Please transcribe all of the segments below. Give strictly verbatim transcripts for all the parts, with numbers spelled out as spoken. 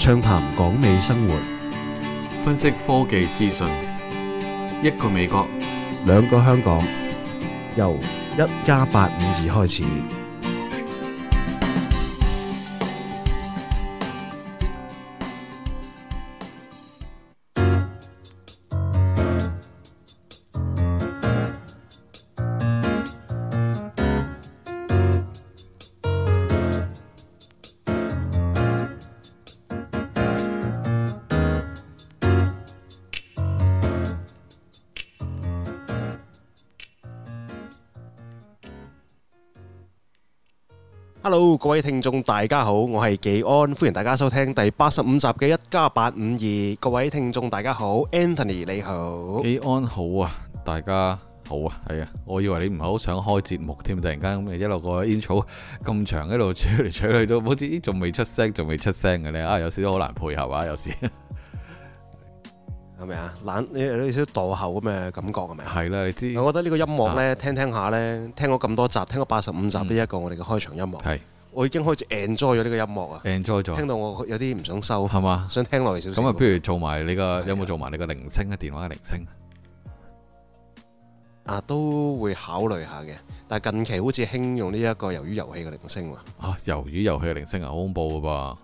暢談港美生活， 分析科技資訊，一個美國， 兩個香港，由一加八五二開始。Hello， 各位聽眾大家好，我係技安，歡迎大家收聽第八十五集嘅一加八五二。各位聽眾大家好 ，Anthony 你好， 技安好啊，大家好啊，係啊，我以為你唔係好想開節目添，突然間咁一路個 intro 咁長，一路吹嚟吹去都好似仲未出聲，仲未出聲嘅咧，啊有時都好難配合啊，有時係咪啊？懶你有少少墮後咁嘅感覺係咪啊？ 係啦，你知， 我覺得呢個音樂咧， 啊、 聽聽下咧，聽咗咁多集，聽咗八十五集呢一個我哋嘅開場音樂，係、嗯、我已經開始 enjoy 咗呢個音樂啊 enjoy 咗，聽到我有啲唔想收， 係嘛？ 想聽落嚟少少。 咁啊，不如做埋你個有冇做埋你個鈴聲啊？電話嘅鈴聲啊，都會考慮下嘅，但係近期好似興用呢一個魷魚遊戲嘅鈴聲喎。 啊，魷魚遊戲嘅鈴聲啊，好恐怖噶噃！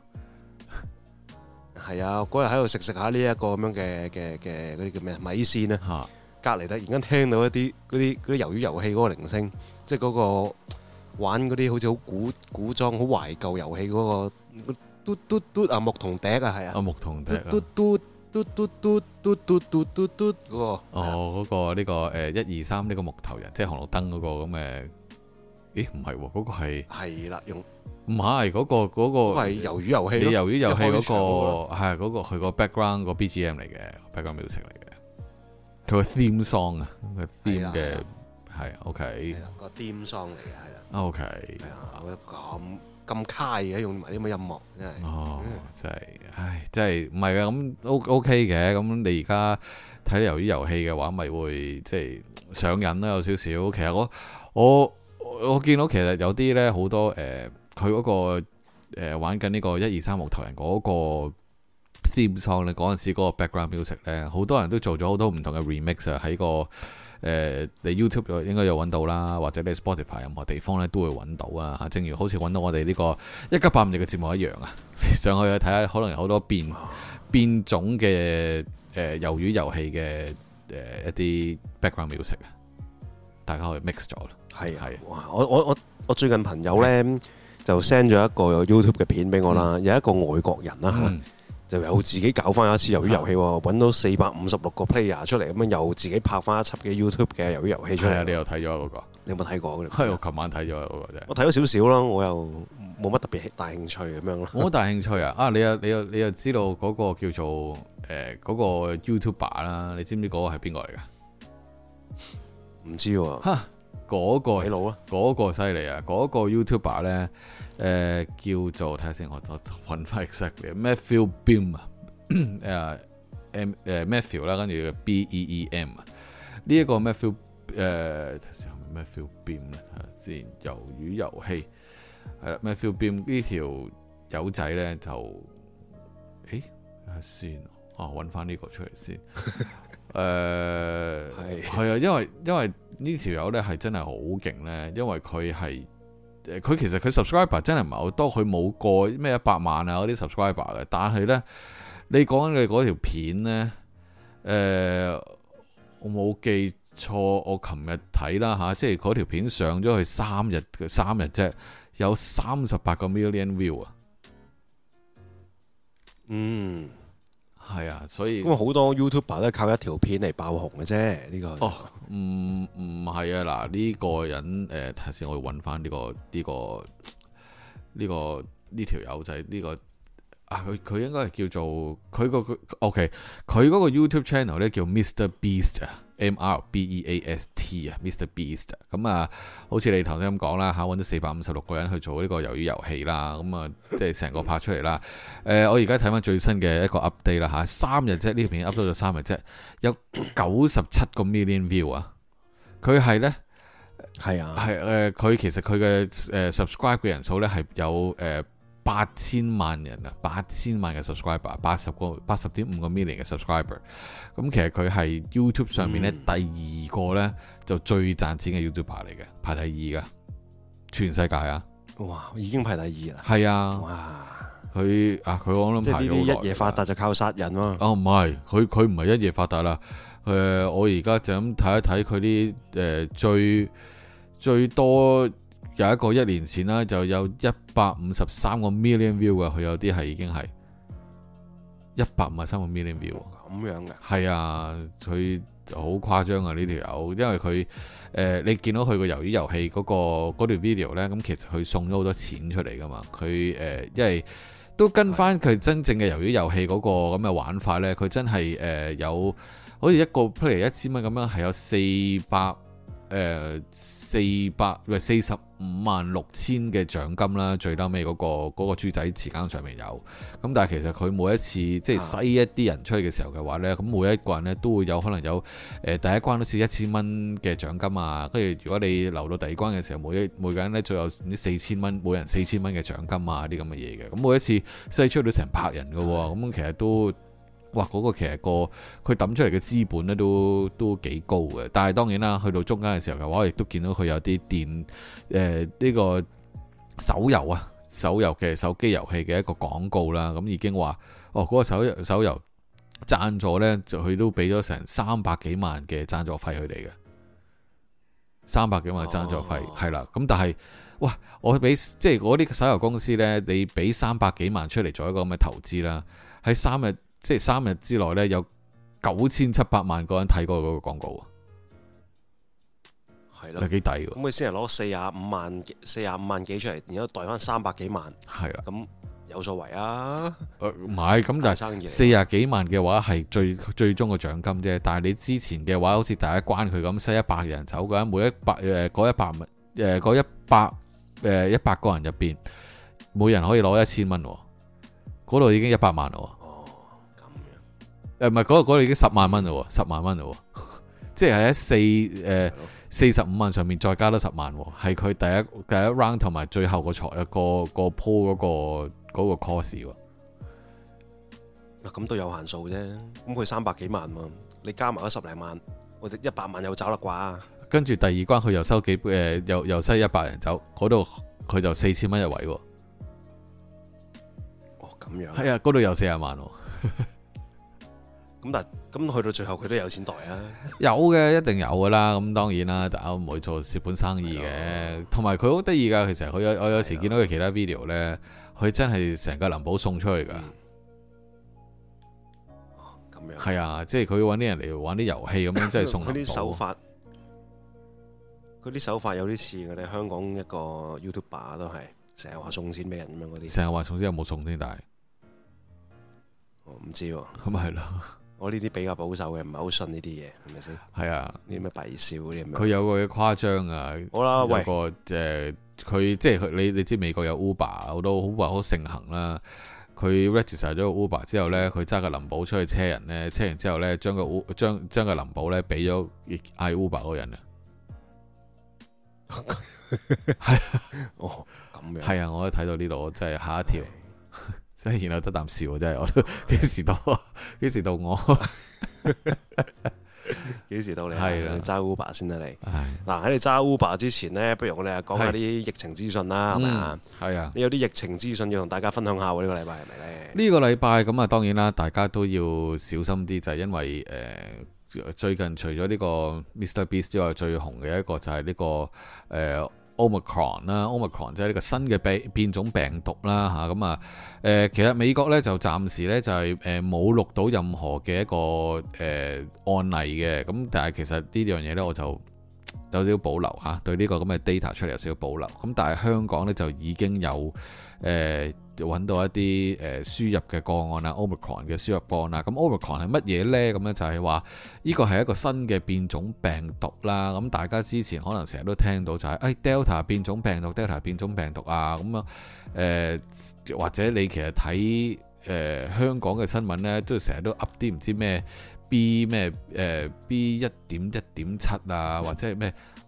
係啊，嗰日喺度食食下呢一個咁樣嘅嘅嘅嗰啲叫咩米線咧，隔離突然間聽到一啲嗰啲嗰啲魷魚遊戲嗰個鈴聲，即係嗰個玩嗰啲好似好古古裝、好懷舊遊戲嗰個嘟嘟嘟啊牧童笛啊，係啊， 啊牧童笛啊， 嘟嘟嘟嘟嘟嘟嘟嘟嘟嘟嗰個， 哦嗰個呢個誒一二三呢個木頭人，即係紅綠燈嗰個咁嘅，咦唔係喎，嗰個係係啦用。唔係嗰個嗰個係魷魚遊戲， 你魷魚遊戲嗰個係嗰個佢個 background 個 B G M 嚟嘅 background music 嚟嘅，佢個 theme song 啊，個 theme 嘅係 OK 個 theme song 嚟嘅係啦 OK 係啊，我覺得咁咁卡嘅用埋啲咁嘅音樂真係哦真係唉真係唔係嘅咁 O OK 嘅咁你而家睇魷魚遊戲嘅話咪會即係上癮啦有少少其實我我我見到其實有啲咧好多誒。佢嗰、那個、呃、玩緊呢個一二三木頭人嗰個 theme song 咧，嗰陣時嗰個 background music 咧，好多人都做咗好多唔同嘅 remix 啊，喺個誒、呃、你 YouTube 應該有揾到啦，或者你 Spotify 任何地方咧都會揾到啊。正如好似揾到我哋呢個一加八五二嘅節目一樣啊，你上去睇下，可能有好多變變種嘅誒魷魚遊戲嘅誒、呃、一啲 background music 啊，大家可以 mix 咗啦。 係係，哇！我我我我最近朋友咧。就 send 咗一個 YouTube 嘅片俾我啦，嗯、有一個外國人啦嚇，嗯、就有自己搞翻一次魷魚遊戲喎，揾、嗯、到四百五十六個 player 出嚟，咁樣又自己拍翻一輯嘅 YouTube 嘅魷魚遊戲出嚟。係啊，你又睇咗嗰個？你有冇睇過？ 係我琴晚睇咗嗰個啫。我睇咗少少咯，我又冇乜特別大興趣咁樣咯。 我好大興趣啊！啊，你又你又你又知道嗰個叫做誒嗰、呃嗰個 YouTuber 啦？你知唔知嗰個係邊個嚟㗎？ 唔知喎。 嗰、那個佬啊， 嗰個犀利啊！嗰、那個 YouTuber 咧，誒、呃、叫做睇下先，我我揾翻 exactly Matthew Beam 啊，誒 M 誒 Matthew 啦，跟住 B E E M 啊，呢一個 Matthew 誒睇下先，Matthew Beam 咧，先魷魚遊戲係啦 Matthew Beam 呢條友仔咧就，誒睇下先，啊揾翻呢個出嚟先。誒係係啊，因為因為呢條友咧係真係好勁咧，因為佢係誒佢其實佢 subscriber 真係唔係好多，佢冇過咩一百萬啊嗰啲 subscriber 嘅，但係咧你講緊嘅嗰條片咧，誒、呃、我冇記錯，我琴日睇啦嚇，即係嗰條片上咗去三日嘅三日啫，有三十八個 million view 啊， 嗯。 係啊，所以因為好多 YouTuber 都係靠一條片嚟爆紅嘅啫，呢、這個哦，唔唔係啊，嗱呢、這個人誒，睇下先，我要揾翻呢個呢、這個呢、這個呢條友仔呢個啊，佢佢應該係叫做佢個佢 OK，佢嗰個 YouTube channel 咧叫 Mister Beast 啊。M R B E A S T 啊 ，Mister Beast 咁啊，好似你頭先咁講啦嚇，揾咗四百五十六個人去做呢個魷魚遊戲啦，咁啊，即係成個拍出嚟啦。誒、呃，我而家睇翻最新嘅一個 update 啦嚇，三日啫，呢條片 upload 咗三日啫，有九十七個 million view 啊。佢係咧，係啊，係誒，佢、呃、其實佢嘅誒 subscribe 嘅人數咧係有誒八千萬人啊，八千萬嘅 subscriber，八十個八十點五個 million 嘅 subscriber。咁其實佢係 YouTube 上面咧、嗯、第二個咧就最賺錢嘅 YouTuber 嚟嘅，排第二噶，全世界啊！哇， 已經排第二啦。 係啊！ 哇， 佢啊，佢我諗即係呢啲一夜發達就靠殺人喎。 哦，唔係，佢佢唔係一夜發達啦。誒、呃，我而家就咁睇一睇佢啲誒最最多有一個一年前啦，就有一百五十三個 million view 啊，佢有啲係已經係一百五十三個 million view。 咁樣嘅？ 係啊，佢好誇張啊！呢條友，因為佢誒、呃，你見到佢個魷魚遊戲嗰個嗰條 video 咧，咁其實佢送咗好多錢出嚟噶嘛。佢誒、呃，因為都跟翻佢真正嘅魷魚遊戲嗰個咁嘅玩法咧，佢真係誒、呃、有。好似一個 play 一千蚊咁樣，係有四百誒四百唔係四十五萬六千嘅獎金啦。最嬲尾嗰個嗰個豬仔時間上面有咁，但係其實佢每一次即係篩一啲人出去嘅時候嘅話呢，咁每一個人呢都會有可能有誒、呃、第一關都似一千蚊嘅獎金啊。跟住如果你留到第二關嘅時候，每一每個人呢就有唔知四千蚊，每人四千蚊嘅獎金啊啲咁嘅嘢嘅。咁每一次篩出到成百人嘅喎，咁其實都。哇！嗰、那個其實個佢抌出嚟嘅資本咧都都幾高嘅，但係當然啦，去到中間嘅時候嘅話，我亦都見到佢有啲電誒呢、呃這個手遊啊，手遊嘅手機遊戲嘅一個廣告啦，咁已經話哦嗰、那個手遊手遊贊助呢，就佢都俾咗成三百幾萬嘅贊助費佢哋嘅，三百幾萬嘅贊助費係啦，咁、哦、但係哇，我俾即係嗰啲手遊公司呢，你俾三百幾萬出嚟做一個咁嘅投資啦，喺三日。即係三日之內咧，有九千七百萬個人睇過嗰個廣告啊，係咯，係幾抵喎？ 咁佢先係攞四十五萬四十五萬幾出嚟，然後袋翻三百幾萬，係啦，咁有所謂啊？ 誒唔係，咁但係四十幾萬嘅話係最最終嘅獎金啫。但係你之前嘅話，好似第一關佢咁，篩一百人走嘅，每一百誒嗰一百誒嗰一百誒一百個人入邊，每人可以攞一千蚊喎，嗰度已經一百萬咯。誒唔係嗰度已經十萬蚊嘞喎，十萬蚊嘞喎，即係喺四誒四十五萬上面再加多十萬喎，係佢第一第一 round 同埋最後個財一個個鋪嗰個嗰個 course 喎。 咁都有限數啫，咁佢三百幾萬喎，你加埋嗰十零萬，我哋一百萬有找啦啩。 跟住第二關佢又收幾誒、呃，又又篩一百人走，嗰度佢就四千蚊一位喎。 哦，咁樣。 係啊，嗰度有四十萬喎。 咁但係咁去到最後佢都有錢袋啊？ 有嘅，一定有噶啦。咁當然啦，大家唔會做蝕本生意嘅。同埋佢好得意噶，其實佢有我有時見到佢其他 video 呢，佢真係成個林寶送出去噶。 咁、嗯、樣係啊，即係佢揾啲人嚟玩啲遊戲咁樣，真係送林寶。佢啲手法， 佢啲手法有啲似我哋香港一個 YouTuber 都係成日話送錢俾人咁樣嗰啲。成日話送錢有冇送先？但係我唔知喎。咁咪係咯。我呢啲比較保守嘅，唔係好信呢啲嘢，係咪先？係啊，呢啲咩弊笑嗰啲咁樣。佢有個誇張啊！好啦，喂，個誒，佢、呃、即係佢你你知美國有 Uber 好多 Uber 好盛行啦。佢 register 咗個 Uber 之後呢，佢揸個林寶出去車人呢，車完之後呢，將個 U 將將個林寶呢俾咗嗌 Uber 嗰個人啊。係哦，咁樣係啊！我都睇到呢度，我真係嚇一跳。真係然後得啖笑，真係我都幾時到？幾時到我？幾時到你？係啦，揸 Uber 先得你。嗱，喺你揸 Uber 之前呢，不如我哋講下啲疫情資訊啦，係咪啊？係啊，你有啲疫情資訊要同大家分享下喎？呢、呢個禮拜係咪咧？呢個禮拜咁啊，當然啦，大家都要小心啲，就係、係、因為誒、呃、最近除咗呢個 Mr Beast 之外，最紅嘅一個就係呢、呢個誒。呃Omicron 啦 Omicron 即係呢個新嘅變變種病毒啦嚇，咁啊誒，其實美國咧就暫時咧就係誒冇錄到任何嘅一個誒、呃、案例嘅，咁但係其實呢樣嘢咧我就有少少保留嚇，對呢個咁嘅 data 出嚟有少少保留，咁但係香港咧就已經有誒揾、呃、到一啲誒輸入嘅個案啦 Omicron 嘅輸入個案啦，咁 Omicron 係乜嘢咧？咁咧就係話呢個係一個新嘅變種病毒啦，咁大家之前可能成日都聽到就係、是、誒、哎、Delta 變種病毒 Delta 變種病毒啊，咁啊誒或者你其實睇誒、呃、香港嘅新聞咧，都成日都噏啲唔知咩 B 咩誒、呃、B 一點一點七啊，或者係咩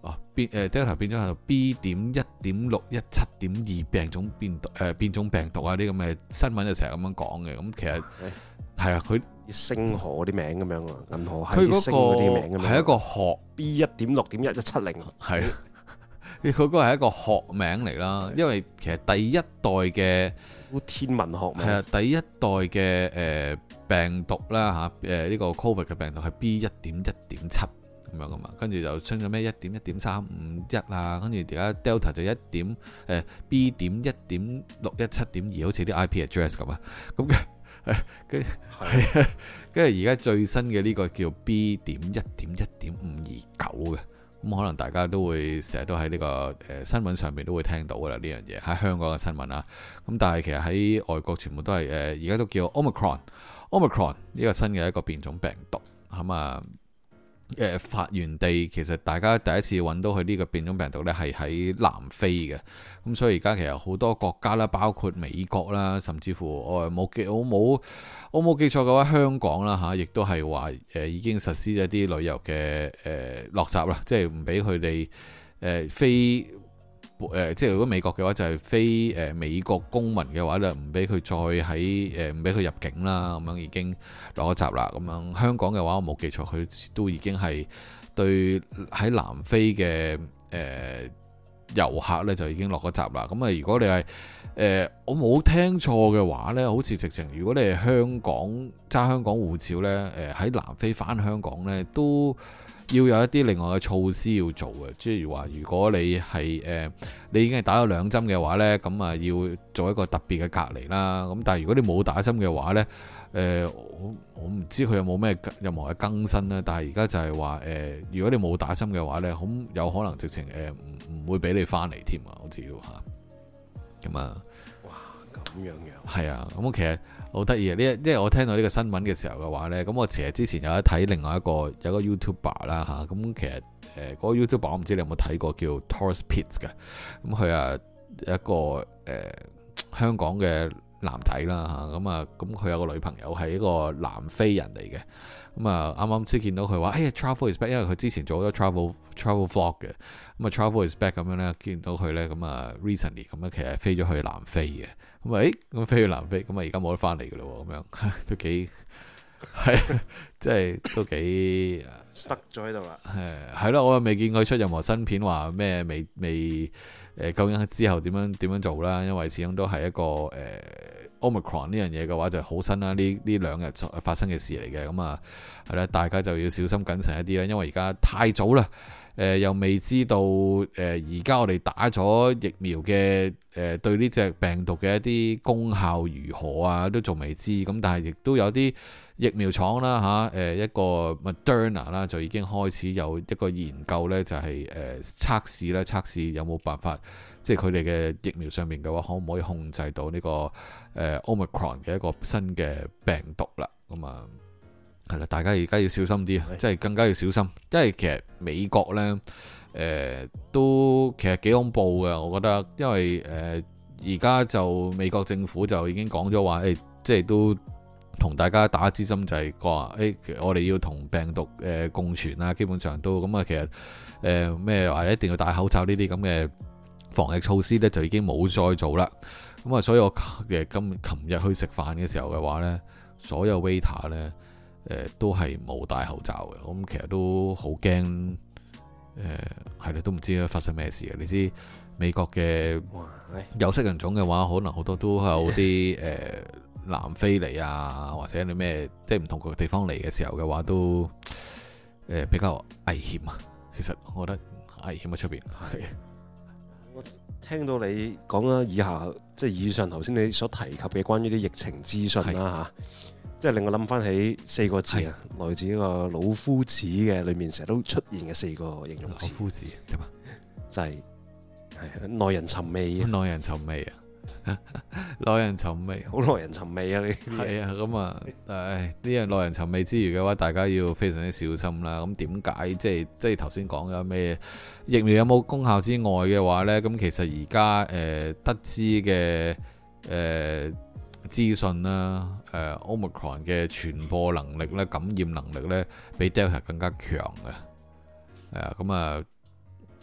哦變誒 Delta 變咗係 B 點一點六一七點二病種變誒、呃、變種病毒啊啲咁嘅新聞就成日咁樣講嘅，咁其實係啊佢星河嗰啲名咁樣啊，銀河系佢啲星嗰啲名咁樣， 係一個學 B 一點六點一一七零係。佢嗰個係一個學名嚟啦，因為其實第一代嘅天文學名係啊，第一代嘅誒、呃、病毒啦嚇，誒、啊、呢、這個 Covid 嘅病毒係 B 一點一點七咁樣噶嘛，跟住就出咗咩一點一點三五一啊，跟住而家 Delta 就一點誒 B 點一點六一七點二，好似啲 I P address 咁啊，咁嘅誒跟係啊，跟住而家最新嘅呢個叫 B 點一點一點五二九嘅。咁可能大家都會成日都喺呢個誒新聞上面都會聽到噶啦，呢樣嘢喺香港嘅新聞啊。咁但係其實喺外國全部都係誒而家都叫 Omicron，Omicron 呢個新嘅一個變種病毒咁啊。誒發源地其實大家第一次揾到佢呢個變種病毒呢係喺南非嘅。咁所以而家其實好多國家啦，包括美國啦，甚至乎我冇記我冇我冇記錯嘅話，香港啦嚇，亦都係話誒已經實施咗啲旅遊嘅誒落閘啦，即係唔俾佢哋誒飛誒，即係如果美國嘅話就係飛誒美國公民嘅話咧，唔俾佢再喺誒唔俾佢入境啦，咁樣已經落咗閘啦。咁樣香港嘅話，我冇記錯，佢都已經係對喺南非嘅誒。呃遊客咧就已經落咗閘啦。咁啊，如果你係誒、呃、我冇聽錯嘅話呢，好似直情如果你係香港揸香港護照呢，誒、呃、喺南非返香港呢，都要有一啲另外嘅措施要做嘅。即係話，如果你係誒、呃、你已經係打咗兩針嘅話呢，咁啊要做一個特別嘅隔離啦。咁但係如果你冇打針嘅話呢，誒、呃、我我唔知佢有冇咩任何嘅更新啦。但係而家就係話誒，如果你冇打針嘅話呢，好有可能直情誒唔唔會俾你翻嚟添啊，好似要嚇咁啊！ 哇，咁樣樣係啊，咁其實好得意啊！呢一即係我聽到呢個新聞嘅時候嘅話呢，咁我其實之前有一睇另外一個有一個 YouTuber 啦嚇，咁其實誒嗰、呃嗰個 YouTuber 我唔知你有冇睇過叫 Taurus Pitts 嘅，咁佢啊一個誒、呃、香港嘅男仔啦嚇，咁啊咁佢有個女朋友係一個南非人嚟嘅。咁啊，啱啱先見到佢話，哎呀，travel is back，因為佢之前做咗 travel travel vlog 嘅，咁啊，travel is back 咁樣咧，見到佢咧，咁啊，recently 咁樣其實飛咗去南非嘅，咁啊，誒，咁飛去南非，咁啊，而家冇得翻嚟嘅咯，咁樣都幾係，即係都幾 stuck 咗喺度啦。 誒，係咯，我又未見佢出任何新片，話咩未未誒，究竟之後點樣點樣做啦？因為始終都係一個誒。呃Omicron 呢樣嘢嘅話就好新啦，呢呢兩日發生嘅事嚟嘅，咁啊係啦，大家就要小心謹慎一啲啦，因為而家太早啦，誒、呃、又未知道誒而家我哋打咗疫苗嘅誒、呃、對呢隻病毒嘅一啲功效如何啊，都仲未知，咁但係亦都有啲疫苗廠啦嚇，誒、啊、一個 Moderna 啦就已經開始有一個研究咧，就係誒測試咧，測試有冇辦法。即係佢哋嘅疫苗上面嘅話，可唔可以控制到呢、這個誒、呃、Omicron 嘅一個新嘅病毒啦？咁啊，係啦，大家而家要小心啲，即係的更加要小心，因為其實美國呢誒、呃、都其實幾恐怖嘅，我覺得，因為誒而家就美國政府就已經講咗話，誒即係都同大家打支針，就係話誒我哋要同病毒誒、呃、共存啊，基本上都咁啊，其實誒咩話一定要戴口罩呢啲咁嘅防疫措施咧就已經冇再做啦，咁啊，所以我嘅今琴日去食飯嘅時候嘅話咧，所有 waiter 咧誒、呃、都係冇戴口罩嘅，咁其實都好驚，誒係啦，都唔知發生咩事嘅。你知美國嘅有色人種嘅話，可能好多都有啲誒、呃、南非嚟啊，或者你咩即係唔同個地方嚟嘅時候嘅話，都誒、呃、比較危險啊。其實我覺得危險喺出邊係。 我聽到你講啦，以下即係以上頭先你所提及嘅關於啲疫情資訊啦嚇，即係令我諗翻起四個字啊，是來自呢個老夫子嘅裏面成日都出現嘅四個形容詞。 老夫子點啊？ 就係係耐人尋味啊！ 耐人尋味啊！耐人尋味， 好耐人尋味啊！你係啊，咁啊，誒呢樣耐人尋味之餘嘅話，大家要非常之小心啦。咁點解即係即係頭先講嘅咩疫苗有冇功效之外嘅話呢？咁其實而家誒得知嘅誒資訊啦，誒、呃、Omicron 嘅傳播能力咧、感染能力咧，比 Delta 更加強嘅。係啊，咁啊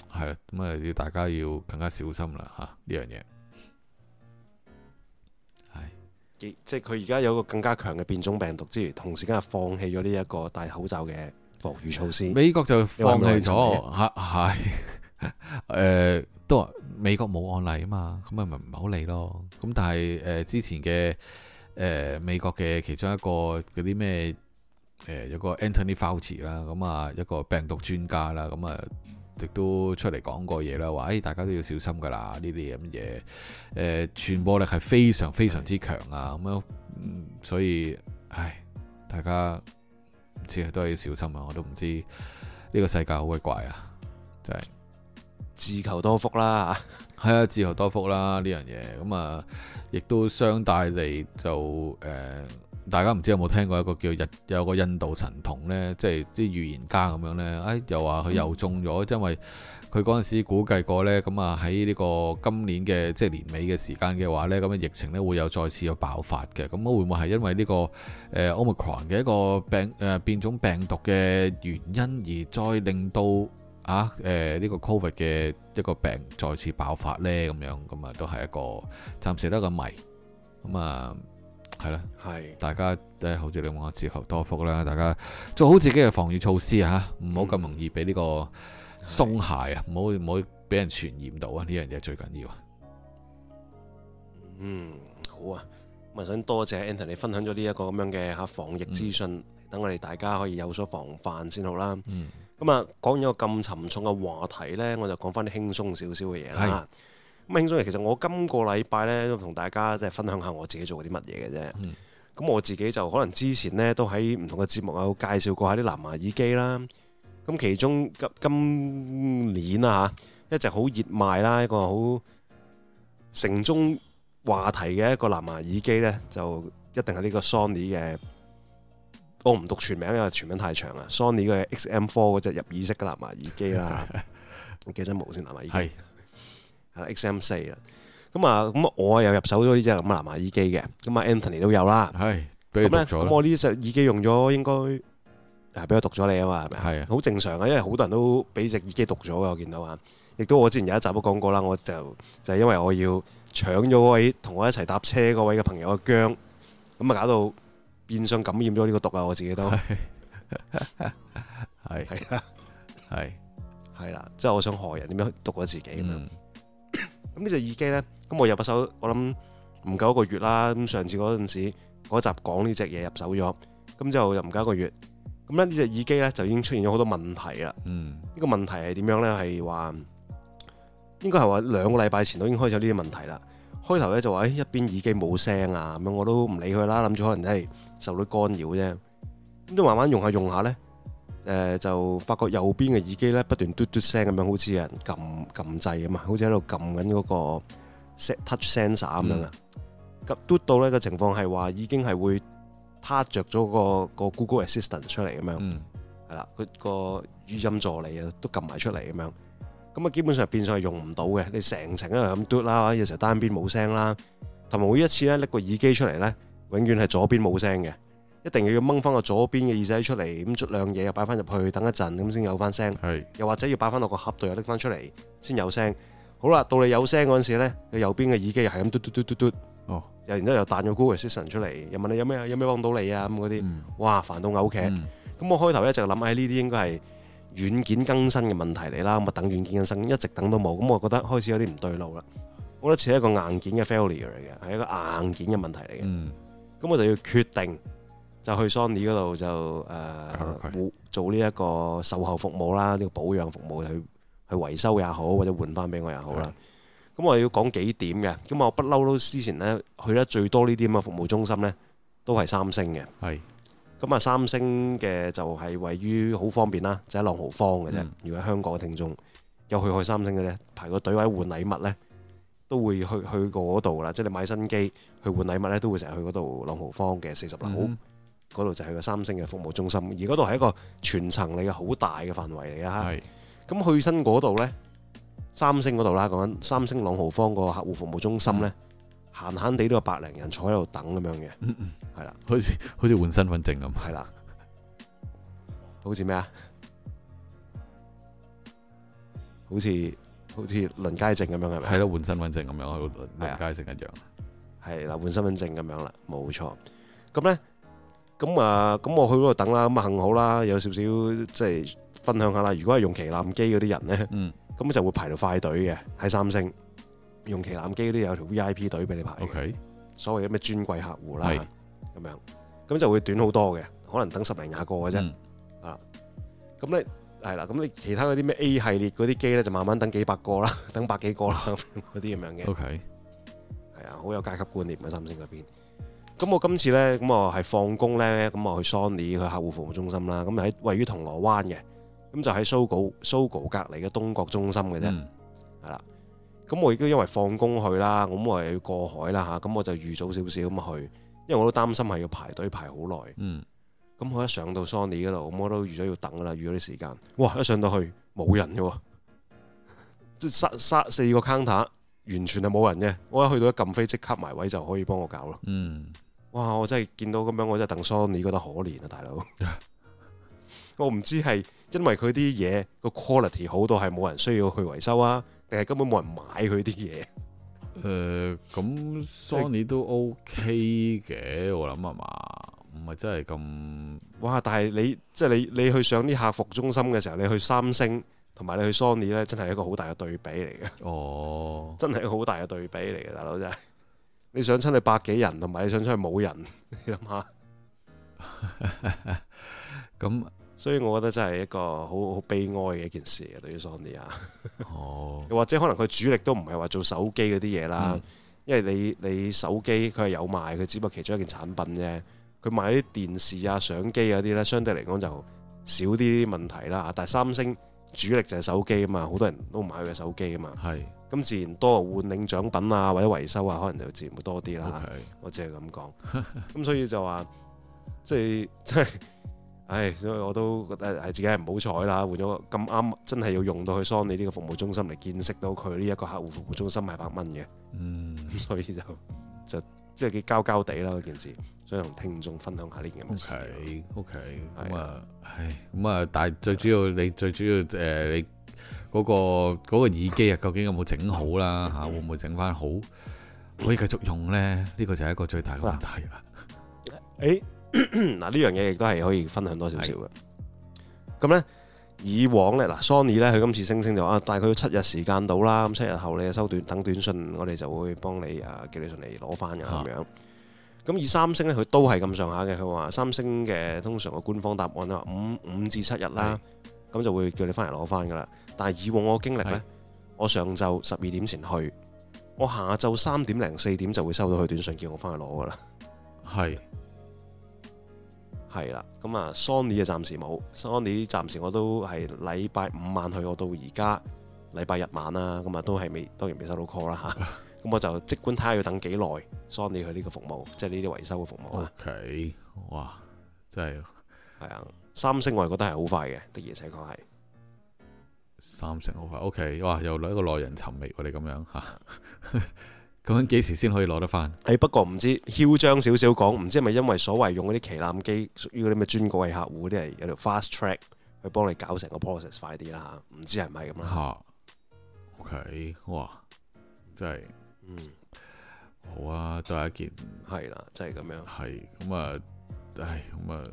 係啦，咁啊要大家要更加小心啦嚇呢樣嘢。 係，即係佢而家有個更加強嘅變種病毒之餘，同時間係放棄咗呢一個戴口罩嘅防禦措施。 美國就放棄咗，係係誒都話美國冇案例啊嘛，咁咪咪唔好理咯。咁但係誒、呃、之前嘅誒、呃、美國嘅其中一個嗰啲咩誒有個 Anthony Fauci 啦，咁啊一個病毒專家啦，咁啊亦都出嚟講過嘢啦，話誒、哎、大家都要小心噶啦，呢啲咁嘅嘢誒傳播力係非常非常之強啊，咁樣、嗯、所以唉大家。唔知都係要小心啊！我都唔知呢個世界好鬼怪啊，真係自求多福啦嚇。 係啊，自求多福啦呢樣嘢。咁啊，亦都相帶嚟就誒、呃，大家唔知有冇聽過一個叫日有個印度神童呢，即係啲預言家咁樣呢。哎，又話佢又中咗，嗯、因為佢嗰陣時估計過呢，咁啊喺呢個今年嘅即係年尾嘅時間嘅話呢，咁嘅疫情呢會有再次有爆發嘅。咁會唔會係因為呢、呢個誒、呃、Omicron 嘅一個病誒、呃、變種病毒嘅原因，而再令到啊誒呢、呃呢個 Covid 嘅一個病再次爆發呢？咁樣咁啊都係一個暫時都係一個謎。咁啊係啦，係是大家都好似你講自求多福啦，大家做好自己嘅防禦措施嚇，唔好咁容易俾呢、呢個。嗯鬆懈啊，唔好唔好俾人傳染到啊！呢樣嘢最緊要啊。嗯， 好啊，咁啊想多謝 Anthony 分享咗呢一個咁樣嘅嚇防疫資訊，等、嗯、我哋大家可以有所防範先好啦。嗯，咁啊講完一個咁沉重嘅話題呢，我就講翻啲輕鬆少少嘅嘢啦。咁輕鬆嘅其實我今個禮拜呢，都同大家即係分享下我自己做啲乜嘢嘅啫。咁、嗯、我自己就可能之前呢，都喺唔同嘅節目有介紹過下啲藍牙耳機啦。咁其中今今年啊嚇，一直好熱賣啦，一個好城中話題嘅一個藍牙耳機呢，就一定係呢個 Sony 嘅，我唔讀全名，因為全名太長啊。Sony 嘅 X M 四 嗰隻入耳式嘅藍牙耳機啦，我記得無線藍牙耳機係係 X M 四啦。咁啊咁我又入手咗呢隻咁嘅藍牙耳機嘅，咁啊 Anthony 都有啦。係俾你讀咗啦。咁我呢隻耳機用咗應該。係俾我讀咗你啊嘛，係咪？係啊，好正常啊，因為好多人都俾隻耳機讀咗嘅，我見到啊。亦都我之前有一集都講過啦，我就就係因為我要搶咗嗰位同我一齊搭車嗰位嘅朋友嘅薑，咁啊搞到變相感染咗呢個毒啊！我自己都係係啦，係係啦，即係我想害人點樣毒咗自己咁樣。咁呢隻耳機咧，咁我入咗手，我諗唔夠一個月啦。咁上次嗰陣時嗰集講呢隻嘢入手咗，咁就又唔夠一個月。咁咧呢隻耳機咧就已經出現咗好多問題啦。嗯，呢個問題係點樣咧？係話應該係話兩個禮拜前都已經開始有呢啲問題啦。開頭咧就話誒一邊耳機冇聲啊，咁樣我都唔理佢啦，諗住可能真係受到干擾啫。咁都慢慢用下用下咧，誒、呃、就發覺右邊嘅耳機咧不斷嘟嘟聲咁樣，好似有人撳撳掣咁啊，好似喺度撳緊嗰個 touch sensor 咁樣啊。咁嘟到咧個情況係話已經係會撻着咗個個 Google Assistant 出嚟咁樣，係啦、嗯，佢個語音助理啊都撳埋出嚟咁樣，咁啊基本上變相係用唔到嘅。你成程都係咁嘟啦，有時候單邊冇聲啦，同埋每一次咧拎個耳機出嚟咧，永遠係左邊冇聲嘅，一定要掹翻個左邊嘅耳仔出嚟，咁捽兩嘢又擺翻入去，等一陣咁先有翻聲。是又或者要擺翻落個盒度又拎翻出嚟先有聲。好啦，到你有聲嗰陣時咧，你右邊嘅耳機又係咁嘟嘟嘟嘟嘟。哦，又然之後又彈咗 Google Assistant 出嚟，又問你有咩有咩幫到你啊咁嗰啲，嗯、哇煩到嘔劇。咁、嗯、我開頭一直諗喺呢啲應該係軟件更新嘅問題嚟啦，咁啊等軟件更新，一直等都冇，咁我覺得開始有啲唔對路啦。我覺得似係一個硬件嘅 failure 嚟嘅，係一個硬件嘅問題嚟嘅。咁、嗯、我就要決定就去 Sony 嗰度就誒、呃嗯、做呢一個售後服務啦，呢、呢個保養服務去去維修也好，或者換翻俾我也好啦。咁我要講幾點嘅，咁我不嬲都之前咧去得最多呢啲咁嘅服務中心咧，都係三星嘅。係是，咁啊三星嘅就係位於好方便啦，就喺朗豪坊嘅啫。嗯、如果香港嘅聽眾有去開三星嘅咧，排個隊位換禮物咧，都會去去過嗰度啦。即係你買新機去換禮物咧，都會成日去嗰度朗豪坊嘅四十樓嗰度，嗯、就係個三星嘅服務中心。而嗰度係一個全層嚟嘅好大嘅範圍嚟嘅嚇。係是，咁去新嗰度咧。三星嗰度啦，講緊三星朗豪坊個客戶服務中心咧，閒閒地都有百零人坐喺度等咁樣嘅，係啦， 好似好似換身份證咁， 係啦，好似咩啊？ 好似好似輪街證咁樣係咪？ 係咯，換身份證咁樣，輪街證一樣。 係啦，換身份證咁樣啦，冇錯。咁咧，咁啊，咁我去嗰度等啦，咁啊幸好啦，有少少即係分享下啦。如果係用旗艦機嗰啲人咧，咁、嗯、就會排到快隊嘅。喺三星用旗艦機嗰啲有條 V I P 隊俾你排嘅，okay. 所謂嘅咩專櫃客戶啦，咁樣咁就會短好多嘅，可能等十零廿個嘅啫。嗯、啊，咁咧係啦，咁你其他嗰啲咩 A 系列嗰啲機咧，就慢慢等幾百個啦，等百幾個啦，嗰啲咁樣嘅。Okay. 係啊，好有階級觀念嘅三星嗰邊。咁我今次咧，咁我係放工咧，咁我去 Sony 去客戶服務中心啦。咁喺位於銅鑼灣嘅，咁就喺 Sogo Sogo 隔離嘅東角中心嘅啫。係啦、嗯，咁我亦都因為放工去啦，咁我又要過海啦嚇，咁我就預早少少咁去，因為我都擔心係要排隊排好耐。嗯。咁我一上到 Sony 嗰度，咁我都預咗要等啦，預咗啲時間。哇！一上到去冇人嘅喎，即係三三四個 counter。完全係冇人嘅，我一去到一撳飛即刻埋位就可以幫我搞咯。嗯，哇！我真係見到咁樣，我真係戥 Sony 覺得可憐啊，大佬。我唔知係因為佢啲嘢個 quality 好到係冇人需要去維修啊，定係根本冇人買佢啲嘢？誒、 呃，咁 Sony 都 OK 嘅，我諗係嘛，唔係真係咁。哇！ 但係你即係你你去上啲客服中心嘅時候，你去三星。同埋你去 Sony 咧，真係一個好大嘅對比嚟嘅。哦，真係一個好大嘅對比嚟嘅，大佬真係。你想親你百幾人，同埋你想出去冇人，你諗下。咁，所以我覺得真係一個好好悲哀嘅一件事啊，對於 Sony 啊。哦。又或者可能佢主力都唔係話做手機嗰啲嘢啦，嗯、因為你你手機佢係有賣，佢只不過其中一件產品啫。佢賣啲電視啊、相機嗰啲咧，相對嚟講就少啲問題啦。但係三星主力就係手機啊嘛，好多人都買佢嘅手機啊嘛。係，咁自然多換領獎品啊，或者維修啊，可能就自然會多啲啦。Okay. 我只係咁講。咁所以就話，即係即係，唉，所以我都覺得係自己係唔好彩啦。換咗咁啱，真係要用到去 Sony 呢個服務中心嚟見識到佢呢一個客戶服務中心係百蚊嘅。嗯，咁所以就就即係幾交交地啦嗰件事。所以同聽眾分享下呢件事。O K，O K，咁啊，唉，咁啊，但係最主要你最主要誒、呃，你嗰、嗰個嗰、嗰個耳機啊，究竟有冇整好啦？嚇，會唔會整翻好，可以繼續用咧？呢、呢個就係一個最大嘅問題啦。誒，嗱呢樣嘢亦都係可以分享多少少嘅。咁咧，以往咧，嗱 Sony 咧，佢今次聲稱就啊，大概要七日時間到啦。咁七日後你收短等短信，我哋就會幫你啊寄你上嚟攞翻嘅咁樣。咁而三星咧，佢都係咁上下嘅。佢話三星嘅通常個官方答案咧，五五至七日啦，咁就會叫你翻嚟攞翻噶啦。但係以往我經歷咧，我上晝十二點前去，我下晝三點零四點就會收到佢短信叫我翻去攞噶啦。係係啦，咁啊 Sony 就暫時冇 ，Sony 暫時我都係禮拜五晚去，我到而家禮拜日晚啦，咁啊都係未，當然未收到 call 啦嚇。咁我就即管睇下要等幾耐 Sony 佢呢個服務，即係呢啲維修嘅服務啦。OK，哇，真係係啊！三星我係覺得係好快嘅，的而且確係三星好快。OK，哇，又嚟一個耐人尋味，我哋咁樣嚇。咁樣幾時先可以攞得翻？誒不過唔知囂張少少講，唔知係咪因為所謂用嗰啲旗艦機屬於嗰啲咩專櫃客戶嗰啲係有條 fast track 去幫你搞成個 process 快啲啦嚇？唔知係唔係咁啦。嚇，OK，哇，真係〜嗯，好啊，都係一件係啦，真係咁樣，係咁啊，唉，咁啊，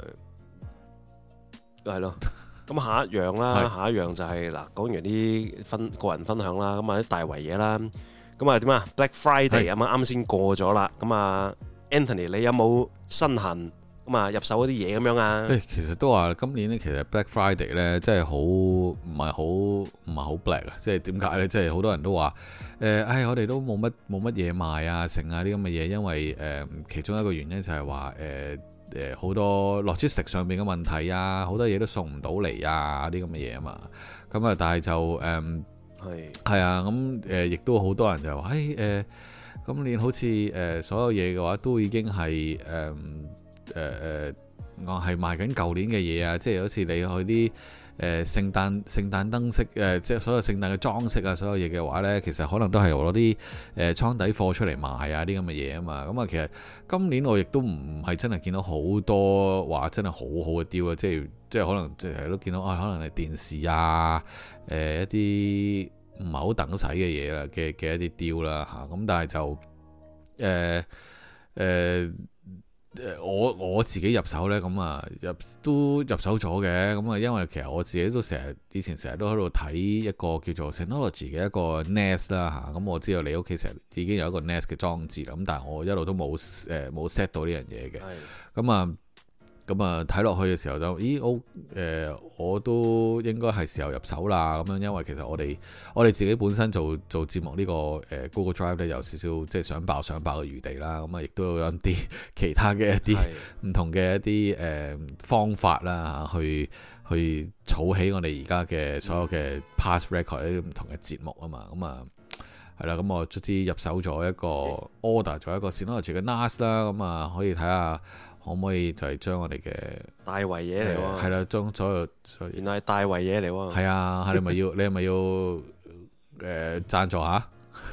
誒，係咯，咁下一樣啦，下一樣就係、是、嗱，講完啲分個人分享啦，咁啊啲大圍嘢啦，咁啊點啊 Black Friday 啊嘛，啱先過咗啦，咁啊 Anthony 你有冇身痕？咁啊，入手嗰啲嘢咁樣啊？誒，其實都話今年咧，其實 Black Friday 咧，真係好唔係好唔係好 black 啊！即係點解咧？即係好多人都話誒，唉、呃，我哋都冇乜冇乜嘢賣啊，剩啊啲咁嘅嘢，因為誒、呃、其中一個原因就係話誒誒好多 logistic 上面嘅問題啊，好多嘢都送唔到嚟啊，啲咁嘅嘢啊嘛。咁啊，但係就誒係係啊，咁誒亦都好多人就話誒誒，今年好似誒、呃、所有嘢嘅話都已經係誒。呃誒誒，我係賣緊舊年嘅嘢啊，即係好似你去啲誒聖誕聖誕燈飾誒，即係所有聖誕嘅裝飾啊，所有嘢嘅話呢，其實可能都係攞啲誒倉底貨出嚟賣啊啲咁嘅嘢啊嘛。咁啊，其實今年我亦都唔係真係見到好多話真係好好嘅 deal 啊，即係即係可能即係都見到啊，可能係電視啊，誒、呃、一啲唔係好等使嘅嘢啦嘅嘅一啲 deal 啦嚇。咁但係就誒誒。呃呃誒我我自己入手呢，咁啊入都入手咗嘅，咁啊因為其實我自己都成日以前成日都喺度睇一個叫做 Synology 嘅一個 Nest 啦嚇，咁我知道你屋企成日已經有一個 Nest 嘅裝置啦，咁但係我一路都冇誒冇 set 到呢樣嘢嘅，咁啊咁啊睇落去嘅時候就，咦我誒、呃、我都應該係時候入手啦，咁樣因為其實我哋我哋自己本身做做節目呢、這個誒、呃、Google Drive 咧有少少即係想爆想爆嘅餘地啦，咁啊亦都有一啲其他嘅一啲唔同嘅一啲誒、呃、方法啦嚇，去去儲起我哋而家嘅所有嘅 past record 呢啲唔同嘅節目啊嘛，咁啊係啦，咁我卒之入手咗一個 order 咗一個 Synology 嘅 N A S 啦，咁啊可以睇下。可唔可以就係將我哋嘅大圍嘢嚟喎？ 係啦，將所有所有原來係大圍嘢嚟喎。 係啊，係你咪要？你係咪要誒、呃、贊助下？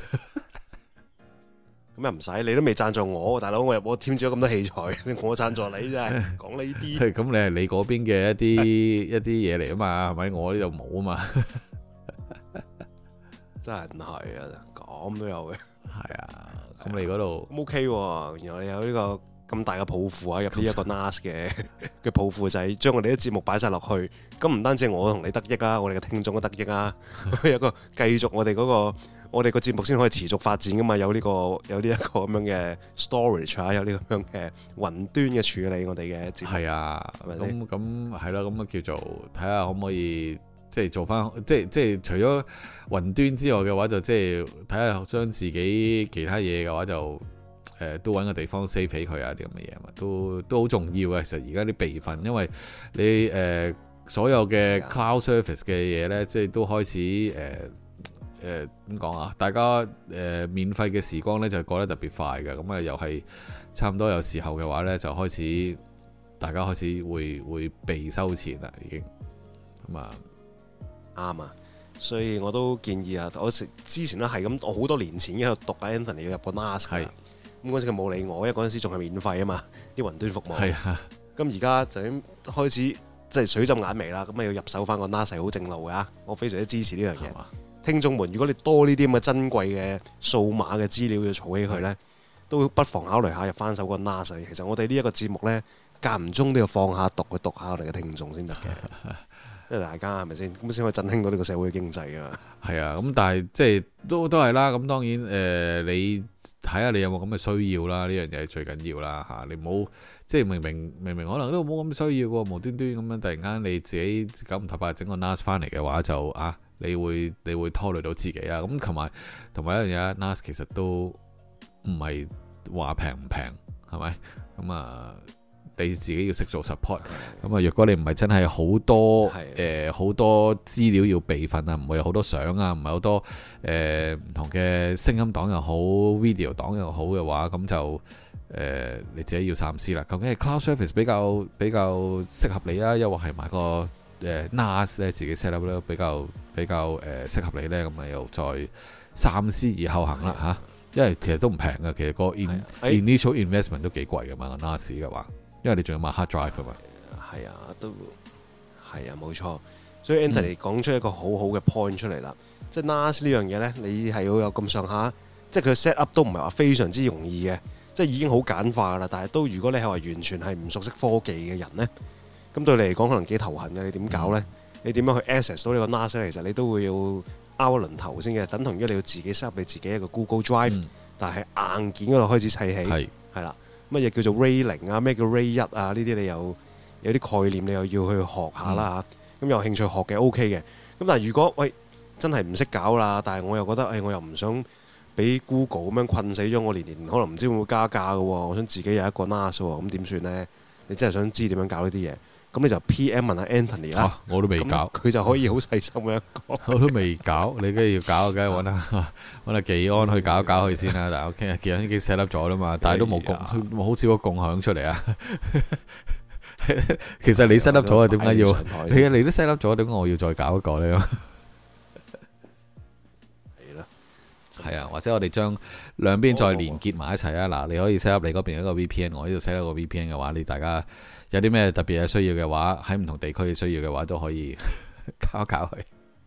咁又唔使，你都未贊助我，大佬，我又我添咗咁多器材，我贊助你啫。講呢啲， 咁你係你嗰邊嘅一啲一啲嘢嚟啊嘛，係咪？我呢度冇啊嘛。 真係唔係啊，咁都有嘅。 係啊，咁你嗰度 OK 喎，原來你有呢、呢個。咁大嘅抱負啊，入呢一個 N A S 嘅嘅抱負就係將我哋啲節目擺晒落去，咁唔單止我同你得益啊，我哋嘅聽眾都得益啊，有個繼續我哋嗰、嗰個我哋個節目先可以持續發展噶嘛，有呢、呢個有呢一個咁樣嘅 storage 啊，有呢個咁樣嘅雲端嘅處理我哋嘅節目。係啊，咁咁係啦，咁啊叫做睇下可唔可以即係做翻，即係即係除咗雲端之外嘅話，就即係睇下將自己其他嘢嘅話就。誒都揾個地方 save 起佢啊啲咁嘅嘢嘛，都都好重要嘅。其實而家啲備份，因為你誒、呃、所有嘅 cloud service 嘅嘢呢，即係都開始誒誒點講啊？大家誒、呃、免費嘅時光呢，就過得特別快嘅，咁啊又係差唔多有時候嘅話呢，就開始大家開始會會被收錢啦，已經咁啊啱啊！所以我都建議啊，我之前都係咁，我好多年前已經喺度讀緊 Anthony 要入個 N A S 嘅。咁嗰陣時佢冇理我，因為嗰陣時仲係免費啊嘛，啲雲端服務。係啊。咁而家就已經開始即係水浸眼眉啦，咁啊要入手翻個 N A S 好正路㗎，我非常之支持呢樣嘢。聽眾們，如果你多呢啲咁嘅珍貴嘅數碼嘅資料要儲起佢呢，都不妨考慮下入翻手個 N A S。其實我哋呢一個節目呢，間唔中都要放下毒去讀下我哋嘅聽眾先得嘅。即係大家係咪先咁先可以振興到呢個社會嘅經濟啊？係啊，咁但係即係都都係啦。咁當然誒、呃，你睇下你有冇咁嘅需要啦。呢樣嘢係最緊要啦嚇。你唔好即係明明明明可能都冇咁嘅需要喎，無端端咁樣突然間你自己九唔搭八整個 N A S 翻嚟嘅話，就啊，你會你會拖累到自己啊。咁同埋同埋一樣嘢 N A S 其實都唔係話平唔平係咪？咁啊。你自己要識做 support，咁啊，若果你唔係真係好多誒好、呃、多資料要備份啊，唔會有好多相啊，唔係好多誒唔同嘅聲音檔又好 video 檔又好嘅話，咁就誒、呃、你自己要三思啦。究竟係 cloud service 比較比較適合你啊，又或係買個誒 N A S 咧自己 set up 咧比較比較誒適合你咧，咁啊又再三思而後行啦嚇。因為其實都唔平嘅，其實個 in, initial investment 都幾貴嘅嘛 N A S 嘅話。因為你仲要買 hard drive 啊嘛， 係啊，都係啊，冇錯。所以 Anthony 講出一個好好嘅 point 出嚟啦，嗯、即係 N A S 呢樣嘢咧，你係要有咁上下，即係佢 set up 都唔係話非常之容易嘅，即係已經好簡化噶啦。但係都如果你係話完全係唔熟悉科技嘅人咧，咁對你嚟講可能幾頭痕嘅。你點搞咧？嗯、你點樣去 access 到呢個 N A S 咧？其實你都會要拗一輪頭先嘅，等同於你要自己 set up 你自己一個 Google Drive，、嗯、但係硬件嗰度開始砌起，係係啦。乜嘢叫做 Ray 零啊？咩叫 Ray 一啊？呢啲你有有啲概念，你又要去學下啦嚇。咁、嗯、有興趣學嘅 OK 嘅。咁但係如果喂真係唔識搞啦，但係我又覺得誒、哎，我又唔想俾 Google 咁樣困死咗我，年年可能唔知會唔會加價嘅喎。我想自己有一個 N A S 喎，咁點算呢？你真係想知點樣搞呢啲嘢？咁你就 P M 問下 Anthony 啦、啊。 我都未搞， 佢就可以好細心咁樣講。 我都未搞，你梗係要搞，梗係揾下揾下技安去搞一搞佢先啦。但係我傾下技安已經 set up 咗啦嘛，但係都冇共，冇好少個共享出嚟啊。 其實你 set up 咗啊，點解要？係啊，你都 set up 咗，點解我要再搞一個咧？ 係咯， 係啊，或者我哋將兩邊再連結埋一齊啊！嗱，你可以 set up 你嗰邊一個 V P N， 我呢度 set up 個 V P N 嘅話，你大家有啲咩特別嘅需要嘅話，喺唔同地區嘅需要嘅話，都可以搞一搞佢。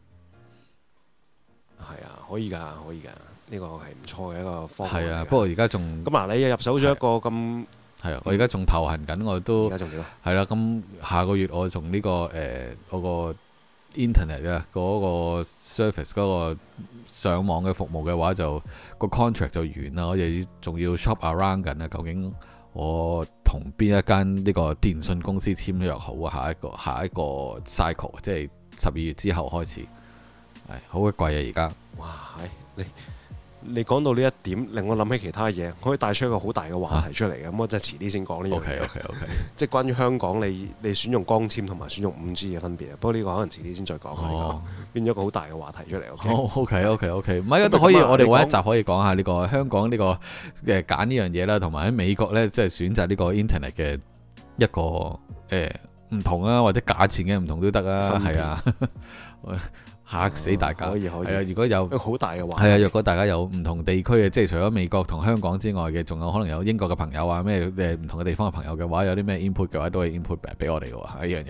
係啊，可以㗎，可以㗎，呢個係唔錯嘅一個方法。 係啊，不過而家仲咁嗱，你又入手咗一個咁。 係啊，我而家仲頭痕緊，我都而家仲點啊？ 係啦，咁下個月我從呢、這個誒嗰、呃那個 internet 啊嗰個 service 嗰個上網嘅服務嘅話就，就個 contract 就完啦，我又仲要 shop around 緊啊，究竟我同邊一間呢個電信公司簽約好啊？下一個下一個 cycle 即係十二月之後開始，係好鬼貴啊！而家哇，你〜你講到呢一點，令我諗起其他嘢，可以帶出一個好大嘅話題出嚟嘅。咁、啊、我真係遲啲先講呢樣嘢。 OK OK OK， 即係關於香港你你選用光纖同埋選用五 G 嘅分別啊。不過呢個可能遲啲先再講。哦，變咗個好大嘅話題出嚟。 OK OK OK，唔係都可以，我哋揾一集可以講下呢個香港呢個嘅揀呢樣嘢啦，同埋喺美國呢，即係選擇呢個 internet 嘅一個誒唔同啊，或者價錢嘅唔同都得啊，係啊。嚇死大家！可以可以。係啊，如果有好大嘅話題， 係啊，若果大家有唔同地區嘅，即係除咗美國同香港之外嘅，仲有可能有英國嘅朋友啊，咩誒唔同嘅地方嘅朋友嘅話，有啲咩 input 嘅話，都可以 input 俾我哋嘅喎，呢樣嘢。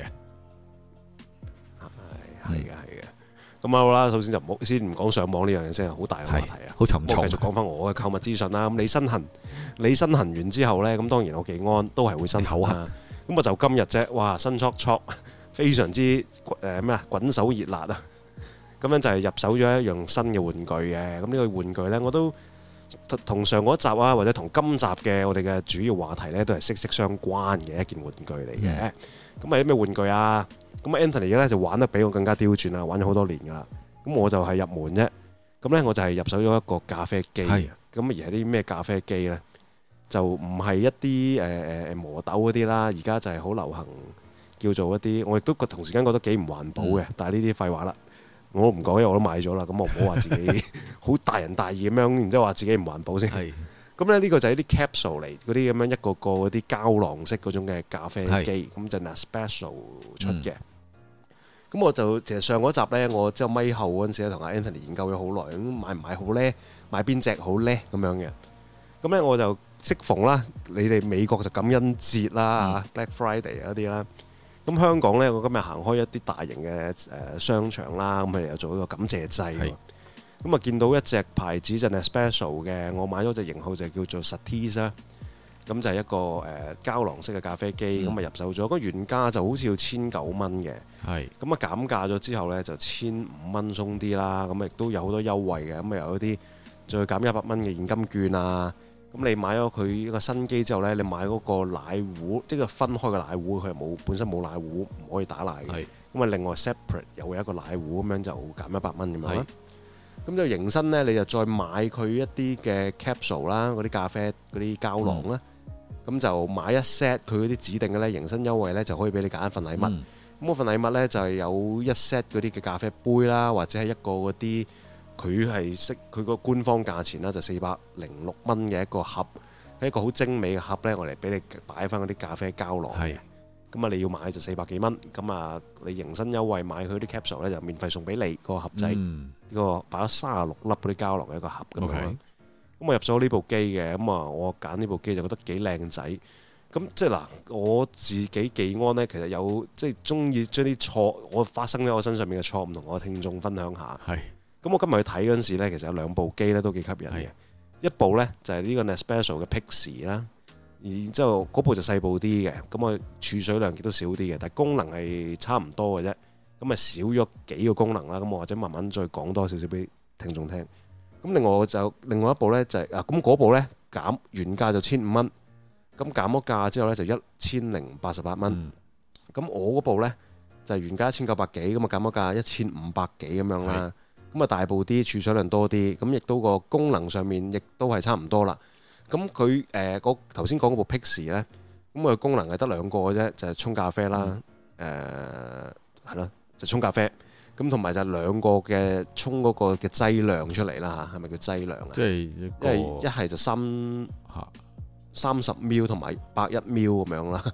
係係嘅係嘅。咁好啦，首先就唔好先唔講上網呢樣嘢先，係好大嘅話題啊， 好沉重。 我繼續講翻我嘅購物資訊啦。咁你身痕，你身痕完之後咧，咁當然我技安都係會身痕啊。咁我就今日啫，哇，新戳戳，非常之誒咩啊，滾手熱辣啊！咁樣就係入手咗一樣新嘅玩具嘅，咁呢個玩具呢，我都同上嗰集啊，或者同今集嘅我哋嘅主要話題呢，都係息息相關嘅一件玩具嚟嘅。咁係啲咩玩具啊？咁 Anthony 咧就玩得比我更加刁鑽啦，玩咗好多年噶啦。咁我就係入門啫。咁呢，我就係入手咗一個咖啡機。咁而係啲咩咖啡機呢？就唔係一啲誒誒磨豆嗰啲啦，而家就係好流行叫做一啲，我亦都同時間覺得幾唔環保嘅。嗯、但係呢啲廢話啦。我都唔講，因為我都買咗啦。咁我唔好話自己好大人大義咁樣，然之後話自己唔環保先。咁咧呢個就係啲 capsule 嚟，嗰啲咁樣一個個嗰啲膠囊式嗰種嘅咖啡機，咁就 Nespresso 出嘅。咁、嗯、我就其實上嗰集呢，我之後咪後嗰陣時咧，同阿 Anthony 研究咗好耐，咁買唔買好呢？買邊隻好呢？咁樣嘅。咁呢，我就適逢啦，你哋美國就感恩節啦、嗯、Black Friday 嗰啲啦。咁香港呢，我今日行開一啲大型嘅誒商場啦，咁佢哋又做一個感謝祭。咁啊見到一隻牌子就係 Nespresso 嘅，我買咗隻型號就叫做 Satis 啦。咁就係一個誒膠囊式嘅咖啡機，咁啊、嗯、入手咗。個原價就好似要千九蚊嘅。係。咁啊減價咗之後呢，就千五蚊鬆啲啦。咁亦都有好多優惠嘅。咁啊有啲再減一百蚊嘅現金券啊。咁你買咗佢一個新機之後呢，你買嗰個奶壺，即係分開嘅奶壺，佢係冇本身冇奶壺，唔可以打奶嘅。咁啊，另外 separate 又會有一個奶壺咁樣就減一百蚊咁樣啦。咁就迎新呢，你就再買佢一啲嘅 capsule 啦，嗰啲咖啡嗰啲膠囊啦。咁、嗯、就買一 set 佢嗰啲指定嘅呢，迎新優惠呢，就可以俾你揀一份禮物。咁嗰、嗯、份禮物呢，就係有一 set 嗰啲嘅咖啡杯啦，或者係一個嗰啲。佢係識佢個官方價錢啦，就四百零六蚊嘅一個盒，係一個好精美嘅盒呢，我嚟俾你擺翻嗰啲咖啡膠囊。係咁啊，你要買就四百幾蚊。咁啊，你迎新優惠買佢啲 capsule 呢，就免費送俾你個盒仔。呢、嗯、個擺咗三十六粒嗰啲膠囊嘅一個盒咁樣。咁 Okay. 我入咗呢部機嘅，咁啊，我揀呢部機就覺得幾靚仔。咁即係嗱，我自己技安呢，其實有即係中意將啲錯我發生喺我身上面嘅錯誤同我聽眾分享下。係。咁我今日去睇嗰陣時咧，其實有兩部機咧都幾吸引嘅。是一部咧就係呢個 Nespresso 嘅 Pixie 啦，然之後嗰部就細部啲嘅，咁我儲水量亦都少啲嘅，但係功能係差唔多嘅啫。咁啊少咗幾個功能啦，咁我或者慢慢再講多少少俾聽眾聽。咁另外我就另外一部咧就係、是、啊，咁嗰部咧減原價就千五蚊，咁減咗價之後咧就一千零八十八蚊。咁、嗯、我嗰部咧就係、是、原價一千九百幾，咁啊減咗價一千五百幾咁樣啦。咁啊大部啲，儲水量多啲，咁亦都個功能上面亦都係差唔多啦。咁佢誒嗰頭先講嗰部 Pixie 咧，咁佢功能係得兩個嘅啫，就係、是、沖咖啡啦，誒係咯，就沖咖啡。咁同埋就係兩個嘅沖嗰個嘅劑量出嚟啦嚇，係咪叫劑量啊？即係一係一係就三嚇三十 ml 同埋百一 ml 咁樣啦。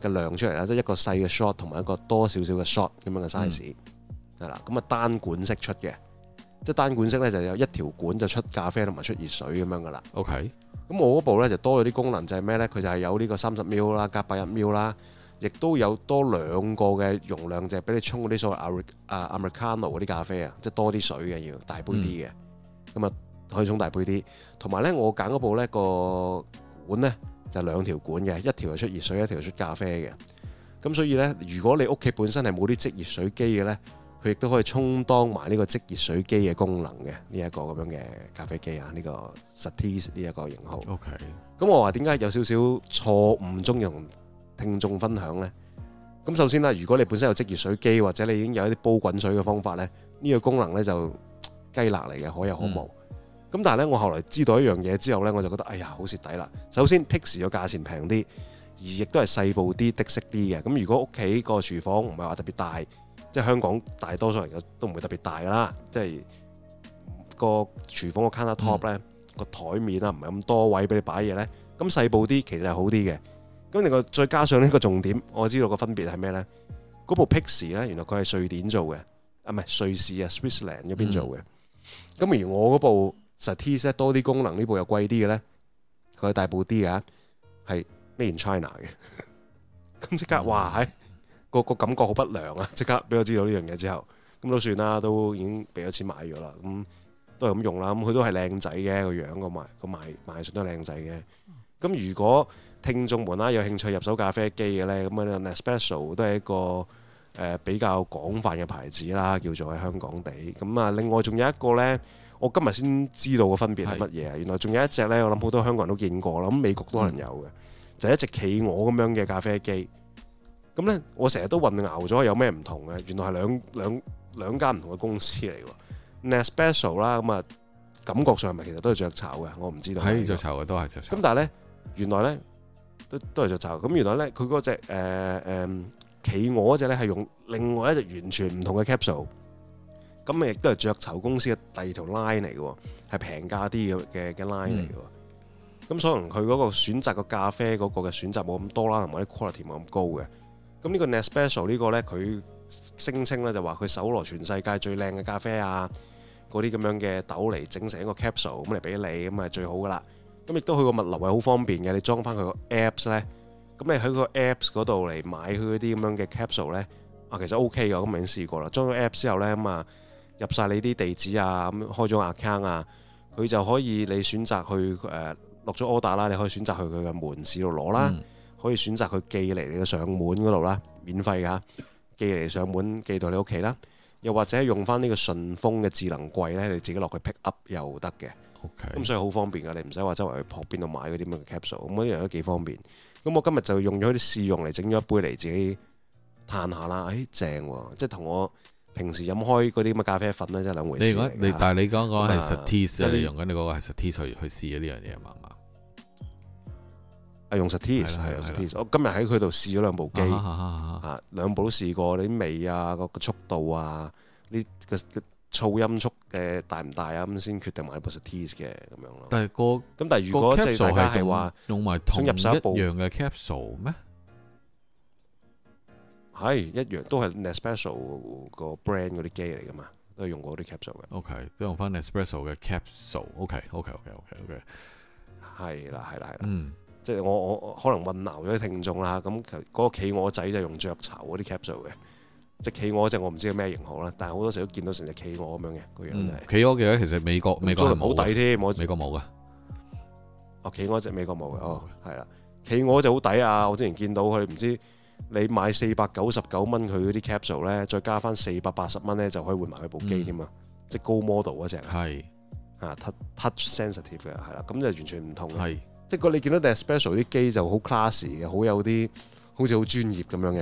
嘅量出嚟啦，即係一個細嘅 shot 同埋一個多少少嘅 shot 咁樣嘅 size 係啦。咁啊單管式出嘅，即係單管式咧就有一條管就出咖啡同埋出熱水咁樣噶啦。 OK， 咁我嗰部咧就多咗啲功能，就係咩咧？佢就係有呢個三十 ml 啦，加八十 ml 啦，亦都有多兩個嘅容量，就係俾你沖嗰啲所謂啊 Americano 嗰啲咖啡啊，即係多啲水嘅要大杯啲嘅，咁啊、嗯、可以沖大杯啲。同埋咧，我揀嗰部咧個管咧就兩條管嘅，一條係出熱水，一條係出咖啡嘅。咁所以咧，如果你屋企本身係冇啲即熱水機嘅咧，佢亦都可以充當埋呢個即熱水機嘅功能嘅呢一個咁樣嘅咖啡機啊，呢、呢個 Satis 呢一個型號。 OK， 咁我話點解有少少錯誤中意同聽眾分享呢？咁首先啦，如果你本身有即熱水機或者你已經有一啲煲滾水嘅方法呢，呢、呢個功能呢就雞肋嚟嘅，可有可無。咁、嗯、但係呢，我後來知道一樣嘢之後呢，我就覺得哎呀好蝕底啦。首先 Pixi 個價錢平啲，而亦都係細部啲、的式啲嘅。咁如果屋企個廚房唔係話特別大，即係香港大多數人都唔會特別大噶啦，即係個廚房個 counter top 呢，個台面啊唔係咁多位俾你擺嘢呢。咁細部啲其實係好啲嘅。咁另外再加上呢個重點，我知道個分別係咩呢？嗰部 Pixi 呢，原來佢係瑞典做嘅，啊唔係瑞士啊 Switzerland 嗰邊做嘅。咁、嗯、而我嗰部 Satis 多啲功能，呢部又貴啲嘅呢，佢係大部啲嘅，係 Made in China 嘅。咁即刻哇係個個感覺好不良啊！即刻俾我知道呢樣嘢之後，咁都算啦，都已經俾咗錢買咗啦。咁都係咁用啦。咁佢都係靚仔嘅個樣，個賣個賣賣相都係靚仔嘅。咁如果聽眾們啦有興趣入手咖啡機嘅咧，咁啊 Nespresso 都係一個誒、呃、比較廣泛嘅牌子啦，叫做喺香港地。咁啊，另外仲有一個咧，我今日先知道個分別係乜嘢啊？是原來仲有一隻咧，我諗好多香港人都見過啦，咁美國都可能有嘅，嗯、就係一隻企鵝咁樣嘅咖啡機。咁咧，我成日都混淆咗有咩唔同嘅，原來係兩兩兩間唔同嘅公司嚟喎。Nespresso 啦，咁啊感覺上係咪其實都係雀巢嘅？我唔知道。係雀巢嘅，都係雀巢。咁但係咧，原來咧。都都係雀巢，咁原來咧佢嗰隻誒誒企鵝嗰隻咧係用另外一隻完全唔同嘅 capsule，咁亦都係雀巢公司嘅第二條 line 嚟嘅，係平價啲嘅嘅嘅 line 嚟嘅。咁、嗯、所能佢嗰個選擇個咖啡嗰個嘅選擇冇咁多啦，同埋啲 quality 冇咁高嘅。咁呢個 Nespresso 呢個咧，佢聲稱咧就話佢搜羅全世界最靚嘅咖啡啊，嗰啲咁樣嘅豆嚟整成一個 capsule 咁嚟俾你，咁係最好噶啦。咁亦都佢個物流係好方便嘅，你裝翻佢個 apps 咧，咁你喺個 apps 嗰度嚟買佢嗰啲咁樣嘅 capsule 咧，啊其實 OK 嘅，咁我已經試過啦。裝咗 apps 之後咧，咁啊入晒你啲地址啊，咁開咗 account 啊，佢就可以你選擇去誒落咗 order 啦，你可以選擇去佢嘅門市度攞啦，嗯、可以選擇佢寄嚟你嘅上門嗰度啦，免費㗎，寄嚟上門寄到你屋企啦，又或者用翻呢個順豐嘅智能櫃咧，你自己落去 pick up 又得嘅。咁 Okay. 所以好方便㗎，你唔使話周圍去撲邊度買嗰啲咁嘅 capsule，咁嗰啲樣都幾方便。咁我今日就用咗啲試用嚟整咗一杯嚟自己嘆下啦。誒正喎，即係同我平時飲開嗰啲咁嘅咖啡粉咧，真係兩回事。你你但係你講講係 Satis，你用緊你嗰個係 Satis 去去試呢樣嘢嘛嘛？啊，用 Satis 係用 Satis。我今日喺佢度試咗兩部機，啊兩部都試過，你啲味啊，個速度啊，呢個噪音速嘅大唔大啊？咁先決定買部 Satis 嘅咁樣咯。但係個咁，但係如果即係大家係話用埋同一樣嘅 capsule 咩？ 係一樣，都係 Nespresso 個 brand 嗰啲機嚟噶嘛，都係用嗰啲 capsule 嘅。OK， 都用翻 Nespresso 嘅 capsule。OK，OK，OK，OK，OK。係啦，係啦，係啦。嗯，即係我我可能混淆咗啲聽眾啦。咁嗰個企鵝仔就用雀巢嗰啲 capsule 嘅。隻企鵝隻我唔知係咩型號啦，但係好多時都見到成隻企鵝咁樣嘅個樣就係。企鵝嘅話其實美國美國係冇好抵添，美國冇噶。哦，企鵝隻美國冇嘅，哦係啦，企鵝就好抵啊！我之前見到佢唔知你買四百九十九蚊佢嗰啲 capsule 咧，再加翻四百八十蚊咧就可以換埋佢部機添啊！即係高 model 嗰隻係啊 touch sensitive 嘅係啦，咁就完全唔同嘅。即係個你見到 Nespresso 啲機就好 classy 嘅，好有啲好似好專業咁樣嘅。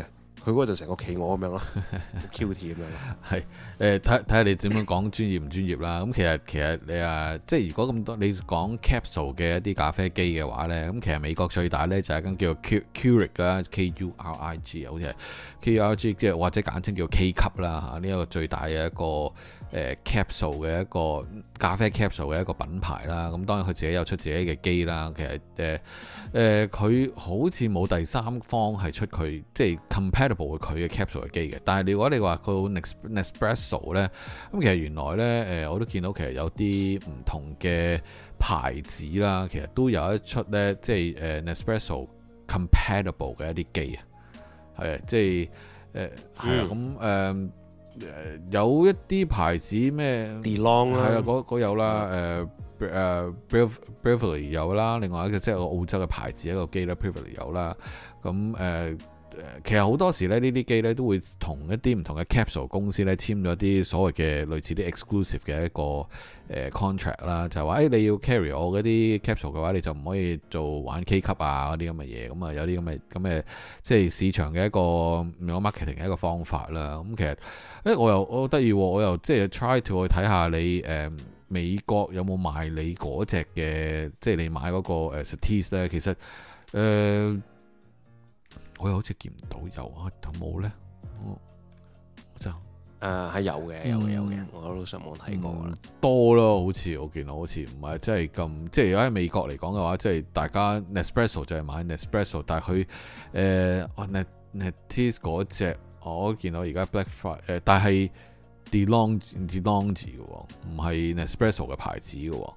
佢嗰個就成個企鵝咁樣咯，Q T 咁樣咯。 係誒，睇睇下你點樣講專業唔專業啦。咁其實其實你啊，即係如果咁多你講 capsule 嘅一啲咖啡機嘅話咧，咁其實美國最大咧就係一間叫做 Keurig 啦 ，K U R I G 好似係 K U R I G， 即係或者簡稱叫 K 級啦嚇。呢一個最大嘅一個誒 capsule 嘅一個咖啡 capsule 嘅一個品牌啦。咁當然佢自己有出自己嘅機啦。其實誒誒，佢、呃、好似冇第三方係出佢即係 compatible 佢嘅 capsule 嘅機嘅，但係如果你話佢 Nespresso 咧，咁其實原來咧誒，我都見到其實有啲唔同嘅牌子啦，其實都有一出咧，即係誒 Nespresso compatible 嘅一啲機啊，係啊，即係誒係啊，咁誒誒有一啲牌子咩 DeLong 啦， 係啊，嗰嗰有啦，誒誒 Bravely 有啦，另外一個即係個澳洲嘅牌子一個機啦 Bravely 有啦，咁誒。其實好多時咧，呢啲機咧都會同一啲唔同嘅 capsule 公司咧簽咗啲所謂嘅類似啲 exclusive 嘅一個誒 contract 啦，就係話誒你要 carry 我嗰啲 capsule 嘅話，你就唔可以做玩 K 級啊嗰啲咁嘅嘢，咁啊有啲咁嘅咁嘅即係市場嘅一個用 marketing 嘅一個方法啦。咁其實誒我又我得意，我又即係 try to 去睇下你誒、呃、美國有冇賣你嗰隻嘅，即係你買嗰個誒 Satis 咧，其實誒。呃我又好似見唔到有啊，有冇咧？我就誒係有嘅，有嘅，有嘅。我都上網睇過啦、嗯， 多咯，好似我見到好似唔係真係咁，即係如果喺美國嚟講嘅話，即係大家 Nespresso 就係買 Nespresso， 但係佢誒 Netis 嗰隻，我見到而家 Black Friday 誒，但係 DeLong DeLong 字嘅喎，唔係 Nespresso 嘅牌子嘅喎，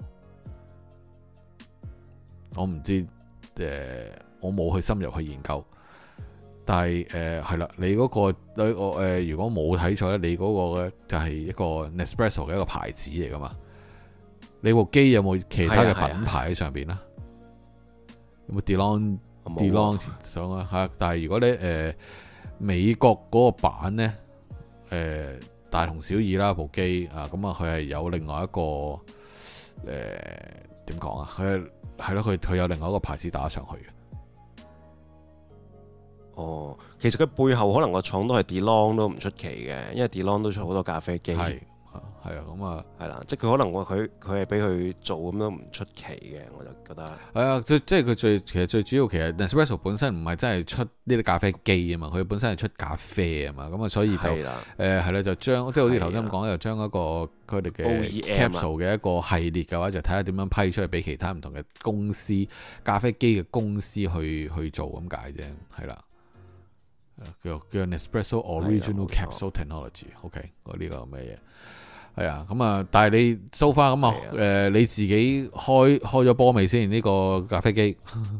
我唔知誒、呃，我冇去深入去研究。但係誒係啦，你嗰、嗰個你我誒如果冇睇錯咧，你嗰個咧就係一個 Nespresso 嘅一個牌子嚟噶嘛？你部機有冇其他嘅品牌喺上邊啊？有冇 DeLong DeLong 上啊？嚇！但係如果你誒、呃、美國嗰個版咧，誒、呃、大同小異啦部機啊，咁啊佢係有另外一個誒點講啊？佢係係咯，佢佢有另外一個牌子打上去嘅。 哦，其實佢背後可能個廠都係 DeLong 都唔出奇嘅，因為 DeLong 都出好多咖啡機。係係啊，咁啊，係啦，即係佢可能佢佢係俾佢做咁都唔出奇嘅，我就覺得。係啊，即係佢最其實最主要其實 Nespresso 本身唔係真係出呢啲咖啡機啊嘛，佢本身係出咖啡啊嘛，咁啊所以就誒係啦，就將即係好似頭先咁講，就將一個佢哋嘅 capsule 嘅一個系列嘅話，就睇下點樣批出去俾其他唔同嘅公司咖啡機嘅公司去去做咁解啫，係啦。叫叫 Nespresso Original Capsule Technology，OK，嗰呢個咩嘢？係啊，咁啊，但係你 so far 咁啊，誒，你自己開開咗波未先？呢個咖啡機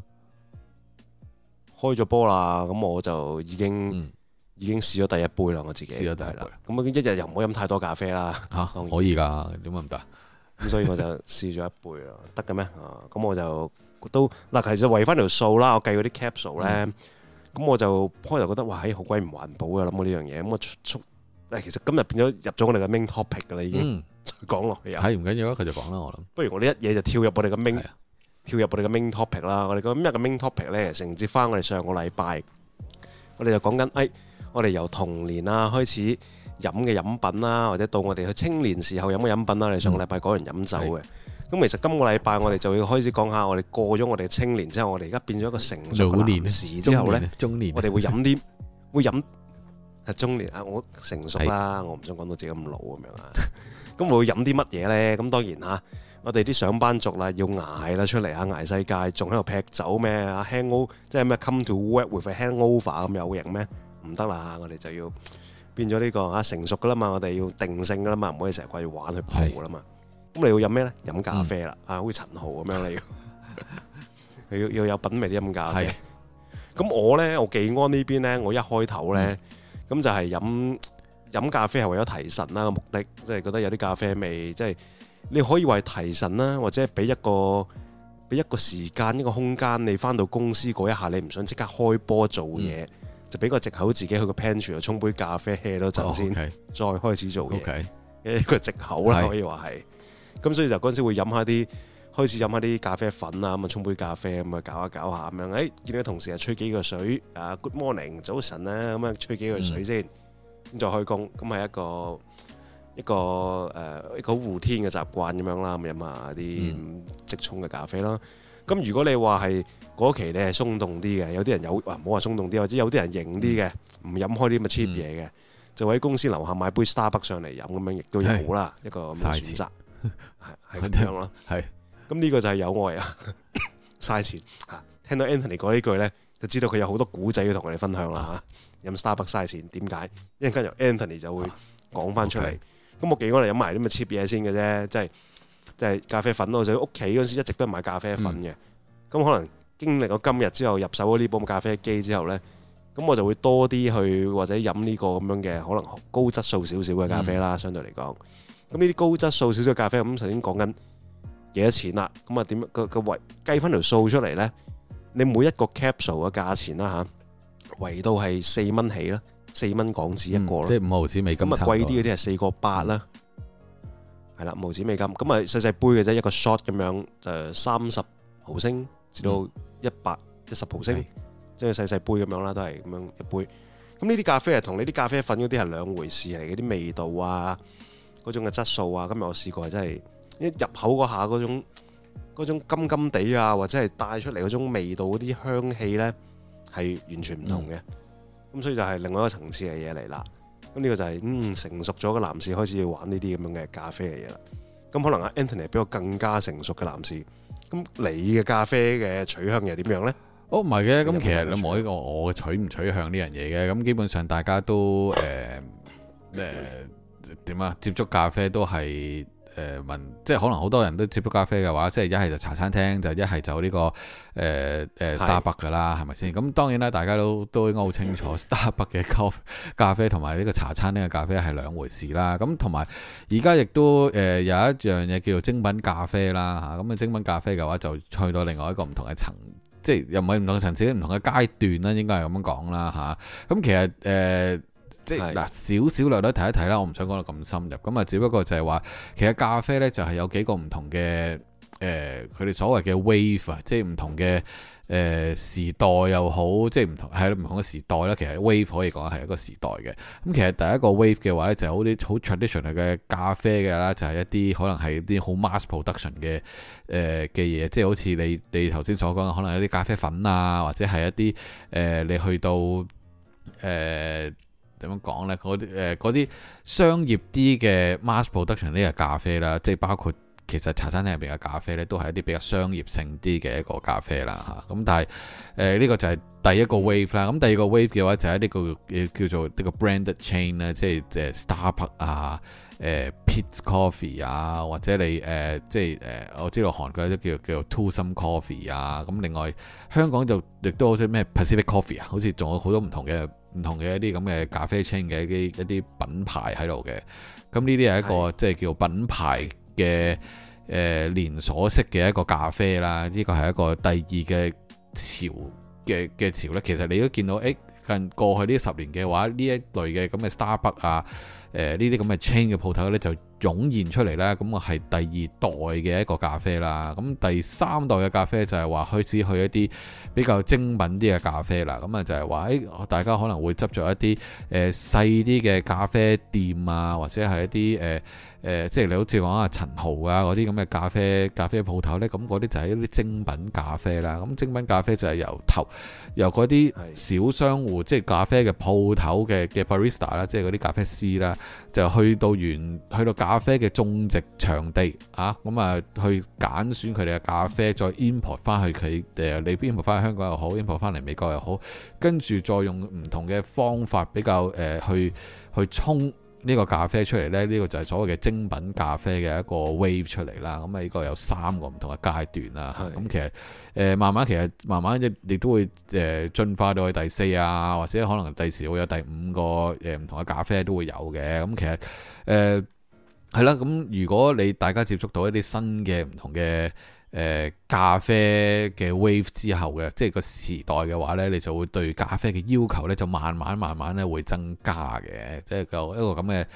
開咗波啦，咁我就已經、嗯、已經試咗第一杯啦，我自己試咗第一杯。 咁啊，一日又唔好飲太多咖啡啦。 嚇、啊，可以㗎，點解唔得？ 咁所以我就試咗一杯啦，得嘅咩？啊，咁我就都嗱，其實圍翻條數啦，我計嗰啲 capsule 咧。嗯咁我就開頭覺得哇，嘿好鬼唔環保啊！諗到呢樣嘢，咁我速誒其實今日變咗入咗我哋嘅 main topic 㗎啦，已經再講落去又係唔緊要啊，繼續講啦，我諗。不如我哋一嘢就跳入我哋嘅 main，跳入我哋嘅 main topic 啦。我哋今日嘅 main topic 咧，承接翻我哋上個禮拜，我哋就講緊誒，我哋由童年啊開始飲嘅飲品啦，或者到我哋去青年時候飲嘅飲品啦。我哋上個禮拜講完飲酒嘅。咁其實今個禮拜我哋就要開始講下我哋過咗我哋嘅青年之後，我哋而家變咗一個成熟嘅男士之後咧， 中年， 我哋會飲啲會飲係中年啊！我成熟啦，我唔想講到自己咁老咁樣啊。咁會飲啲乜嘢咧？咁當然嚇，我哋啲上班族啦，要捱啦出嚟嚇，捱世界，仲喺度劈酒咩啊 hangover 即係咩 come to work with a hangover 咁有型咩？唔得啦！我哋就要變咗呢個啊成熟噶啦嘛，我哋要定性噶啦嘛，唔可以成日掛住玩去蒲噶啦嘛。咁你要飲咩咧？飲咖啡啦，嗯、啊，好似陳豪咁樣你要，要要有品味啲飲咖啡。咁我咧，我技安呢邊咧，我一開頭咧，咁、嗯、就係飲飲咖啡係為咗提神啦個目的，即係覺得有啲咖啡味，即係你可以話係提神啦，或者俾一個俾一個時間一個空間，你翻到公司嗰一下，你唔想即刻開波做嘢，嗯、就俾個藉口自己去個 pantry 度沖杯咖啡 hea 多陣先，哦 okay、再開始做嘢，okay、一個藉口啦，可以話係。咁所以就嗰陣時會飲下啲開始飲下啲咖啡粉啊，咁啊沖杯咖啡咁啊搞下搞下咁樣，誒、哎、見到同事啊吹幾個水啊 ，Good morning 早晨啊，咁啊吹幾個水先，咁、嗯、再開工，咁係一個一個誒、呃、一個好護天嘅習慣咁樣啦，咁飲下啲即沖嘅咖啡啦。咁、嗯、如果你話係嗰期你係鬆動啲嘅，有啲人有啊，唔好話鬆動啲，或者有啲人型啲嘅，唔飲開啲咁嘅 cheap 嘢嘅，嗯、就喺公司樓下買杯 Starbucks 上嚟飲咁樣，亦都有啦，是一個咁嘅選擇，係係咁樣咯，係。咁呢個就係有愛啊，嘥錢嚇！聽到 Anthony 講呢句咧，就知道佢有好多古仔要同我哋分享啦嚇。飲 Starbucks 嘥錢點解？一陣間由 Anthony 就會講翻出嚟。咁、啊 okay. 我幾個嚟飲埋啲咁嘅 cheap 嘢先嘅啫，即係即係咖啡粉咯。我就屋企嗰時一直都係買咖啡粉嘅。咁、嗯、可能經歷咗今日之後入手咗呢部咖啡機之後咧，咁我就會多啲去或者飲呢個咁樣嘅可能高質素少少嘅咖啡啦。嗯、相對嚟講，咁呢啲高質素少少嘅咖啡，咁首先講緊幾多錢啦？咁啊點個個圍計翻條數出嚟咧？你每一個 capsule 嘅價錢啦嚇，圍到係四蚊起啦，四蚊港紙一個咯、嗯，即係五毫紙美金。咁啊貴啲嗰啲係四個八啦，係啦、嗯，五毫紙美金。咁啊細細杯嘅啫，一個 shot 咁樣就三十毫升至到一百一十毫升，即係細細杯咁樣啦，都係咁樣一杯。咁呢啲咖啡係同你啲咖啡粉嗰啲係兩回事嚟嘅，啲味道啊，嗰種嘅質素啊。今日我試過係真係。一入口嗰下嗰種嗰種甘甘地啊，或者係帶出嚟嗰種味道嗰啲香氣咧，係完全唔同嘅。咁、嗯、所以就係另外一個層次嘅嘢嚟啦。咁呢個就係、是、嗯成熟咗嘅男士開始要玩呢啲咁樣嘅咖啡嘅嘢啦。咁可能阿 Anthony 比我更加成熟嘅男士，咁你嘅咖啡嘅取向又點樣咧？ 哦，唔係嘅，咁其實你冇呢個我嘅取唔取向呢樣嘢嘅。咁基本上大家都誒誒點啊，接觸咖啡都係。誒問，即係可能好多人都接觸咖啡嘅話，即係一係就茶餐廳，就一係就呢、這個誒誒、呃呃、Starbucks 㗎啦，係咪先？咁當然啦，大家都都應該好清楚 Starbucks 嘅咖咖啡同埋呢個茶餐廳嘅咖啡係兩回事啦。咁同埋而家亦都誒、呃、有一樣嘢叫做精品咖啡啦嚇。咁啊精品咖啡嘅話就去到另外一個唔同嘅層，即係又唔係唔同嘅層次，唔同嘅階段啦，應該係咁樣講啦嚇。咁、啊、其實誒。呃即係嗱，少少略略睇一睇啦，我唔想講到咁深入。咁啊，只不過就係話，其實咖啡咧就係有幾個唔同嘅誒，佢、呃、哋所謂嘅 wave 啊，即係唔同嘅誒、呃、時代又好，即係唔同係唔同嘅時代啦。其實 wave 可以講係一個時代嘅。咁其實第一個 wave 嘅話咧，就係好啲好 traditional 嘅咖啡嘅啦，就係、是、一啲可能係啲好 mass production 嘅誒嘅嘢，即係好似你你頭先所講嘅，可能有啲咖啡粉啊，或者係一啲誒、呃、你去到誒。呃點樣講呢？嗰啲誒嗰啲商業啲嘅 mass production 呢個咖啡啦，即係包括其實茶餐廳入邊嘅咖啡呢，都係一啲比較商業性啲嘅一個咖啡啦嚇。咁但係誒呢個就係第一個 wave 啦。咁第二個 wave 嘅話就係呢個叫做呢個 branded chain 啦，即係誒 Starbucks 啊、誒 Peet's Coffee 啊，或者你誒、呃、即係誒、呃、我知道韓國有啲叫叫做 Twosome Coffee 啊。咁另外香港就亦都好似咩 Pacific Coffee 啊，好似仲有好多唔同嘅。唔同嘅一啲咁嘅咖啡 chain 嘅一啲一啲品牌喺度嘅，咁呢啲係一個即係叫品牌嘅誒、呃、連鎖式嘅一個咖啡啦。呢個係一個第二嘅潮嘅嘅潮咧。其實你都見到，誒、欸、近過去呢十年嘅話，呢一類嘅咁嘅 Starbucks 啊，誒呢啲咁嘅 chain 嘅鋪頭咧就湧現出嚟啦。咁我係第二代嘅一個咖啡啦。咁第三代嘅咖啡就係話開始去一啲比較精品啲嘅咖啡啦。咁啊就係話誒，大家可能會執咗一啲誒細啲嘅咖啡店啊，或者係一啲誒。呃誒、呃，即係你好似講啊陳豪啊嗰啲咁嘅咖啡咖啡鋪頭呢，咁嗰啲就係一啲精品咖啡啦。咁精品咖啡就係由頭由嗰啲小商戶，即係咖啡嘅鋪頭嘅嘅 barista 啦，即係嗰啲咖啡師啦，就去到原去到咖啡嘅種植場地啊，咁啊去揀選佢哋嘅咖啡，再 import 翻去佢誒，你 import 翻去香港又好 import 翻嚟美國又好，跟住再用唔同嘅方法比較誒、呃、去去沖呢個咖啡出嚟呢，呢、呢個就係所謂嘅精品咖啡嘅一個 wave 出嚟啦。咁啊，呢個有三個唔同嘅階段啦。咁是其實誒、呃、慢慢其實慢慢亦亦都會誒進化到去第四啊，或者可能第時會有第五個誒唔同嘅咖啡都會有嘅。咁其實誒係啦。咁如果你大家接觸到一啲新嘅唔同嘅誒、呃、咖啡嘅 wave 之後嘅，即係個時代嘅話呢，你就會對咖啡嘅要求呢，就慢慢慢慢咧會增加嘅，即係個一個咁嘅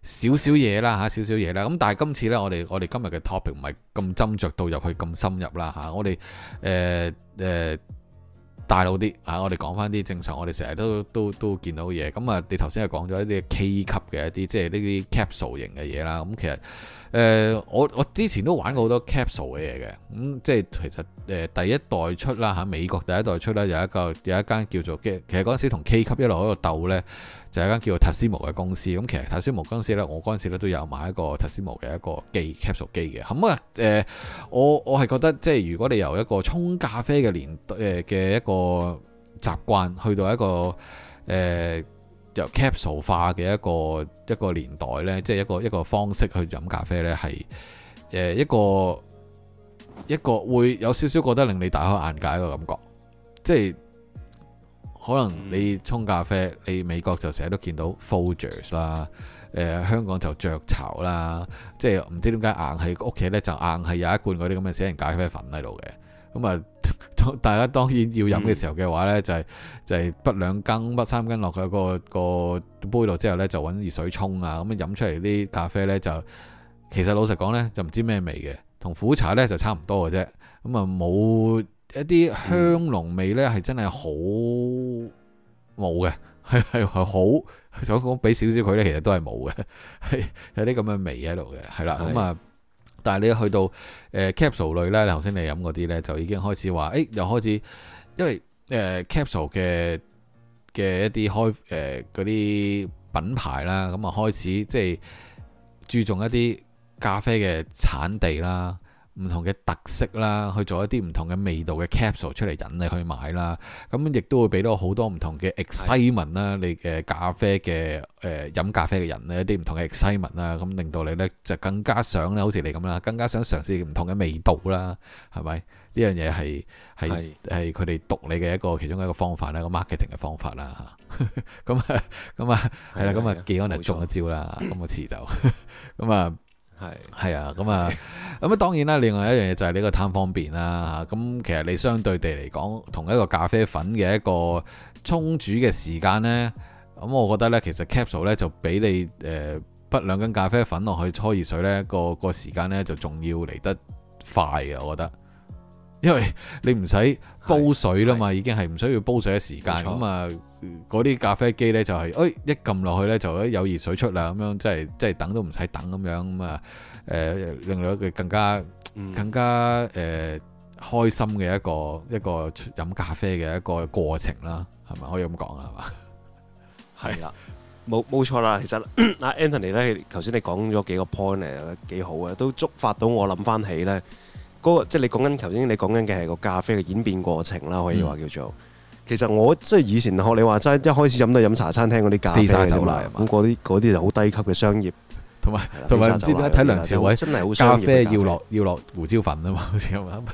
少少嘢啦嚇，少少嘢啦。咁但係今次呢，我哋我哋今日嘅 topic 唔係咁斟酌到入去咁深入啦嚇。我哋誒誒大路啲嚇，我哋講翻啲正常，我哋成日都都都見到嘅嘢。咁啊，你頭先係講咗一啲 K 級嘅一啲，即係呢啲 capsule 型嘅嘢啦。咁其實誒、呃，我我之前都玩過好多 capsule 嘅嘢嘅。咁、嗯、即係其實誒、呃、第一代出啦嚇，美國第一代出啦，有一個有一間叫做嘅，其實嗰陣時同 K 級一路喺度鬥呢，就係一間叫做 Tassimo 嘅公司。咁其實 Tassimo 公司呢，我嗰陣時咧都有買一個 Tassimo 嘅一個機 capsule 機嘅。咁啊誒，我我係覺得即係如果你由一個沖咖啡嘅年誒嘅一個習慣去到一個誒、呃、由 capsule 化嘅一個一個年代呢，即係一個一個方式去飲咖啡呢，係誒一個一個會有少少覺得令你大開眼界一個感覺，即係可能你沖咖啡，你美國就成日都見到 Folgers 啦，誒、呃、香港就雀巢啦，即係唔知點解硬係屋企呢，就硬係有一罐嗰啲咁嘅死人咖啡粉喺度嘅。咁啊，大家當然要飲嘅時候嘅話呢，就係、是、就係畢兩羹、畢三羹落去個個杯度之後呢，就揾熱水沖啊，咁樣飲出嚟啲咖啡呢，就其實老實講呢，就唔知咩味嘅，同苦茶呢就差唔多嘅啫。咁啊冇一啲香濃味呢，係真係好冇嘅，係係係好想講俾少少佢呢，其實都係冇嘅，係有啲咁嘅味喺度嘅，係啦，咁啊。但係你一去到誒、呃、capsule 類咧，頭先你飲嗰啲咧，就已經開始話，誒、欸、又開始，因為誒、呃、capsule 嘅嘅一啲開誒嗰啲品牌啦，咁啊開始即係注重一啲咖啡嘅產地啦，唔同嘅特色啦，去做一啲唔同嘅味道嘅 capsule 出嚟引你去買啦，咁亦都會俾到好多唔同嘅 excitement 啦，你嘅咖啡嘅誒飲咖啡嘅人呢，一啲唔同嘅 excitement 啦，咁令到你呢就更加想咧，好似你咁啦，更加想嘗試唔同嘅味道啦，係咪？呢樣嘢係係係佢哋讀你嘅一個其中一個方法啦，一個 marketing 嘅方法啦嚇。咁啊咁啊係啦，咁啊技安就中一招啦，咁個詞就咁啊。係係啊，咁啊，咁啊，當然啦。另外一樣嘢就係呢個貪方便啦嚇。咁其實你相對地嚟講，同一個咖啡粉嘅一個沖煮嘅時間呢，咁我覺得呢，其實 capsule 呢就比你誒畢兩斤咖啡粉落去搓熱水呢個個時間呢就仲要嚟得快嘅，我覺得。因為你唔使煲水啦嘛，已經係唔需要煲水嘅時間。咁啊，嗰啲咖啡機呢，就係、是，誒、哎、一撳落去呢，就有熱水出啦，咁樣即係即係等都唔使等咁樣咁啊，誒、呃、令到佢更加、嗯、更加誒、呃、開心嘅一個一個飲咖啡嘅一個過程啦，係咪可以咁講啊？係嘛？ 係啦，冇冇錯啦。其實阿 Anthony 呢，頭先你講咗幾個 point 嚟，幾好嘅，都觸發到我諗翻起呢。嗰個即係你講緊頭先，你講緊嘅係個咖啡嘅演變過程啦，可以話叫做。嗯、其實我即係以前學你話齋，一開始飲都係飲茶餐廳嗰啲咖啡啫嘛。咁嗰啲嗰啲就好低級嘅商業，同埋同埋唔知點解睇梁朝偉真係好商業咖啡要落要落胡椒粉啊嘛，好似咁啊。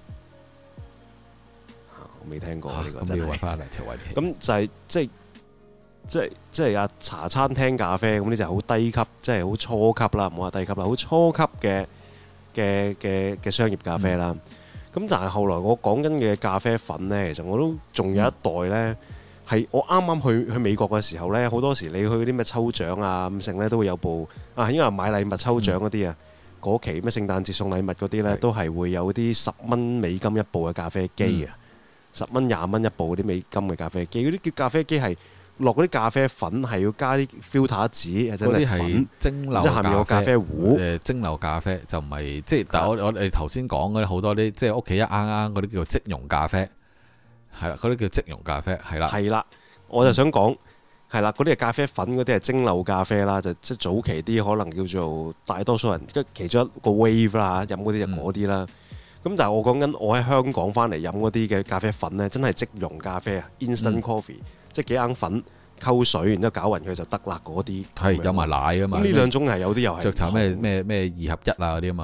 我未聽過呢、呢個， 咁、啊、要揾翻梁朝偉。 咁就係即係即係即係啊茶餐廳咖啡咁呢就係好低級，即係好初級啦，唔好話低級啦，好初級嘅。嘅嘅嘅商業咖啡啦，咁、嗯、但係後來我講緊嘅咖啡粉呢，其實我都仲有一代呢，係、嗯、我啱啱去去美國嘅時候呢，好多時你去嗰啲咩抽獎啊咁剩呢，都會有部啊，應該係買禮物抽獎嗰啲啊，嗰、嗯、期咩聖誕節送禮物嗰啲呢，都係會有啲十蚊美金一部嘅咖啡機啊，十蚊廿蚊一部嗰啲美金嘅咖啡機，嗰啲叫咖啡機係。落嗰啲咖啡粉係要加啲 filter 紙，真係粉蒸餾，即係下面有咖啡壺。誒蒸餾咖啡就唔係即係，但係我我哋頭先講嗰啲好多啲，即係屋企一啱啱嗰啲叫做即溶咖啡，係啦，嗰啲叫即溶咖啡，係啦。係啦，我就想講係啦，嗰啲係咖啡粉，嗰啲係蒸餾咖啡啦，就即係早期啲可能叫做大多數人即其中一個 wave 啦，飲嗰啲就嗰啲啦。咁、嗯、但係我講緊我喺香港翻嚟飲嗰啲嘅咖啡粉咧，真係即溶咖啡啊 ，instant coffee。嗯即係幾盎粉溝水，然之後攪勻佢就得啦。嗰啲係有埋奶啊嘛。 呢兩種係有啲又係雀巢咩咩咩二合一啊嗰啲啊嘛。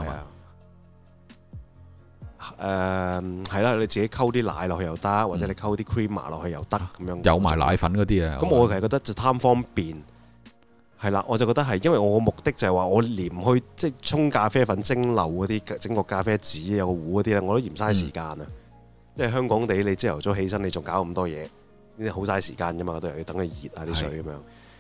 誒係啦，你自己溝啲奶落去又得，嗯、或者你溝啲 creamer 落去又得咁樣。 有埋奶粉嗰啲啊。咁我係覺得就貪方便。係啦，我就覺得係因為我嘅目的就係話我連去即係沖咖啡粉蒸餾嗰啲整個咖啡紙有個壺嗰啲咧，我都嫌嘥時間啊。即係、嗯、香港地你朝頭早起身你仲搞咁多嘢。呢啲好嘥時間㗎嘛，都又要等佢熱啊啲水咁樣。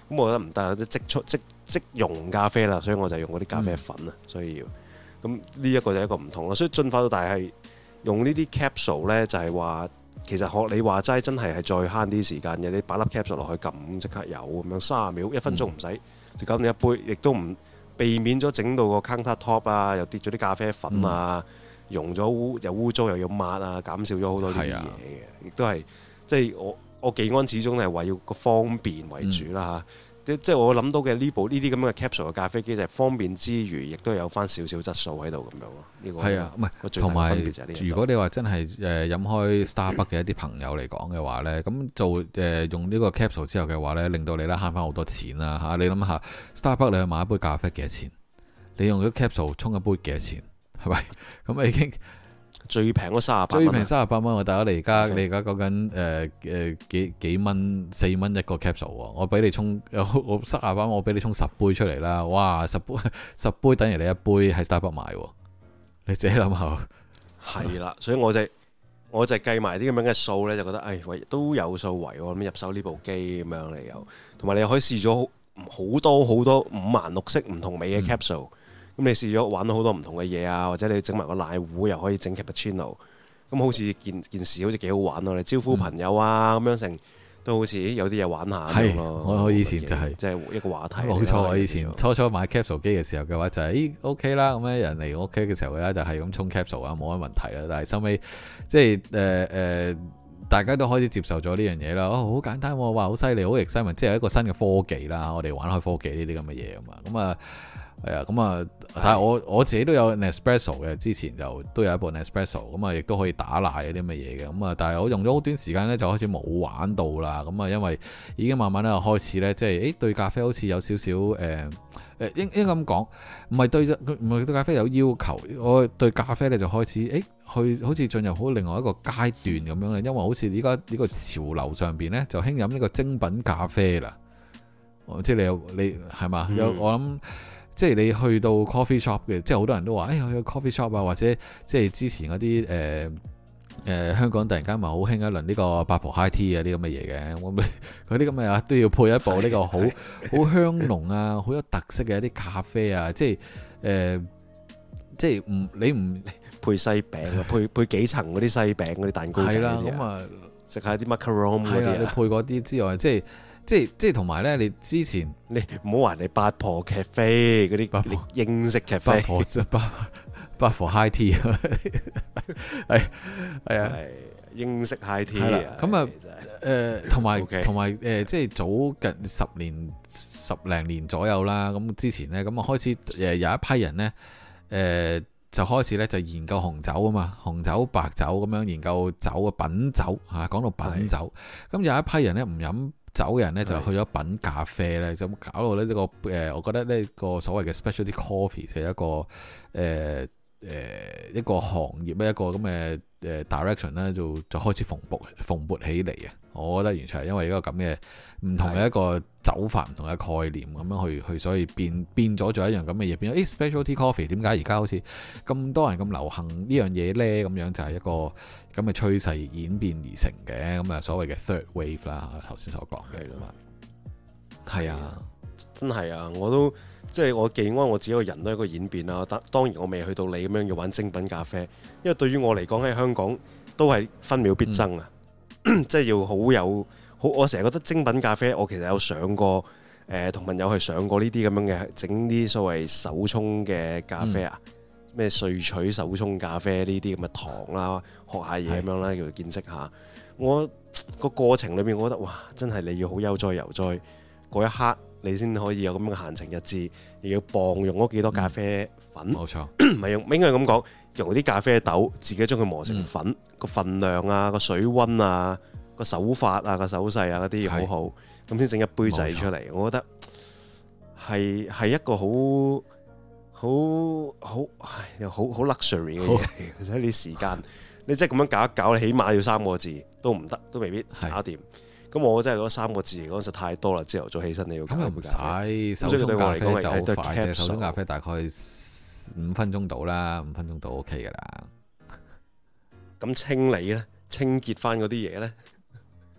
咁我覺得唔得，即即即即溶咖啡啦，所以我就用嗰啲咖啡粉啊，嗯、所以要咁呢一個就係一個唔同咯。所以進化到大係用呢啲 capsule 咧，就係話其實學你話齋真係係再慳啲時間嘅。你擺粒 capsule 落去撳即刻有咁樣，三十秒一分鐘唔使、嗯、就搞掂一杯，亦都唔避免咗整到個 counter top 啊，又跌咗啲咖啡粉啊，嗯、溶咗污又污糟又要抹啊，減少咗好多呢啲嘢嘅，亦都係即係我。我技安始終係為要個方便為主啦嚇，即即係我諗到嘅呢部呢啲咁嘅 capsule 嘅咖啡機就係方便之餘，亦都有翻少少質素喺度咁樣咯。呢個係啊，唔係同埋如果你話真係誒飲開 Starbucks 嘅一啲朋友嚟講嘅話咧，咁做誒、呃、用呢個 capsule 之後嘅話咧，令到你咧慳翻好多錢啦嚇。你諗下 Starbucks 你去買一杯咖啡幾多錢？你用咗 capsule 沖一杯幾多錢？係咪咁啊已經？ 最平嗰三十八蚊， 最平三十八蚊。我大家你而家你而家講緊誒誒幾幾蚊四蚊一個 capsule 喎，我俾你沖我三十八蚊，我俾你沖十杯出嚟啦！哇，十杯十杯等於你一杯喺 Starbucks 買喎，你自己諗下。係啦，所以我就我就計埋啲咁樣嘅數咧，就覺得誒喂、哎、都有數為喎，咁入手呢部機咁樣嚟又，同埋你又可以試咗好多好多五顏六色唔同味嘅 capsule。嗯咁你試咗玩到好多唔同嘅嘢啊，或者你整埋個奶壺又可以整 cappuccino，咁好似件件事好似幾好玩咯！你招呼朋友啊咁、嗯、樣成都好似有啲嘢玩下咁咯。我我以前就係即係一個話題。冇錯，我以前初初買 capsule 機嘅時候嘅話就係、是、咦 OK 啦，咁樣人嚟我屋企嘅時候咧就係咁沖 capsule 啊，冇乜問題啦。但係收尾即係誒誒，大家都開始接受咗呢樣嘢啦。哦，好簡單喎，哇，好犀利，好 exciting，即係一個新嘅科技啦。我哋玩開科技呢啲咁嘅嘢啊嘛，咁啊。係啊，咁啊，但係我我自己都有 Nespresso 嘅，之前就都有一部 Nespresso，咁啊，亦都可以打奶嗰啲咁嘅嘢嘅，咁啊，但係我用咗好短時間咧，就開始冇玩到啦，咁啊，因為已經慢慢咧開始咧，即係誒對咖啡好似有少少誒誒應應該咁講，唔係對唔係對咖啡有要求，我對咖啡咧就開始誒去好似進入好另外一個階段咁樣咧，因為好似而家呢個潮流上邊咧就興飲呢個精品咖啡啦，即係你有你係嘛有我諗。即係你去到 coffee shop 嘅，即係好多人都話，哎呀去 coffee shop 啊，或者即係之前嗰啲誒誒香港突然間咪好興一輪呢個八婆 high tea 啊啲咁嘅嘢嘅，我咪嗰啲咁嘅都要配一部呢個好好香濃啊、好有特色嘅一啲咖啡啊，即係誒、呃、即係唔你唔配西餅啊，配配幾層嗰啲西餅嗰啲蛋糕仔嗰啲咁啊，食下啲 macaron 嗰啲啊，你配嗰啲之外，即係。即係即係同埋咧，你之前你唔好話你八婆咖啡嗰啲八婆英式咖啡，八婆即係八八婆 high tea，係係啊，英式 high tea 啊。咁啊誒，同埋同埋誒，即係早近十年十零年左右啦。咁之前咧，咁啊開始誒有一批人咧誒、呃、就開始咧就研究紅酒啊嘛，紅酒白酒咁樣研究酒啊品酒嚇，講到品酒。咁有一批人咧唔飲酒人咧就去咗品咖啡咧，就搞到咧呢個誒，我覺得呢個所謂嘅 specialty coffee 係一個誒誒、呃呃、一個行業咧，一個咁嘅誒 direction 咧，就就開始蓬勃蓬勃起嚟啊！我覺得完全係因為一個咁嘅唔同嘅一個走法，唔同嘅概念咁樣去去，所以變變咗做一樣咁嘅嘢，變咗誒 specialty coffee 點解而家好似咁多人咁流行呢樣嘢咧？咁樣就係一個咁嘅趨勢演變而成嘅，咁啊所謂嘅 third wave 啦，頭先所講嘅嘛，係啊，真係啊，我都即係我技安我自己個人都係一個演變啦。當當然我未去到你咁樣要玩精品咖啡，因為對於我嚟講喺香港都係分秒必爭啊。嗯即係要好有好，我成日覺得精品咖啡，我其實有上過誒，同、呃、朋友去上過呢啲咁樣嘅整啲所謂手沖嘅咖啡啊，咩萃、嗯、取手沖咖啡呢啲咁嘅堂啦，學下嘢咁樣啦，叫做見識下。我個過程裏面，我覺得哇，真係你要好悠哉悠哉嗰一刻，你先可以有咁樣嘅閒情逸致，又要磅用嗰幾多咖啡粉，冇、嗯、錯，唔係用，應該係咁講。用啲咖啡豆，自己將佢磨成粉，個、嗯、份量啊，個水溫啊，個手法啊，個手勢啊嗰啲要好好，咁先整一杯仔出嚟。我覺得係係一個好好好唉，好好 luxury 嘅嘢。其實啲時間，你即係咁樣搞一搞，你起碼要三個字都唔得，都未必搞掂。咁我真係覺得三個字嚟講實太多啦。朝頭早起身你要咁又唔使手沖咖啡就好快啫，手沖咖啡大概五分鐘到啦，五分鐘到 OK 噶啦。咁清理咧，清潔翻嗰啲嘢咧，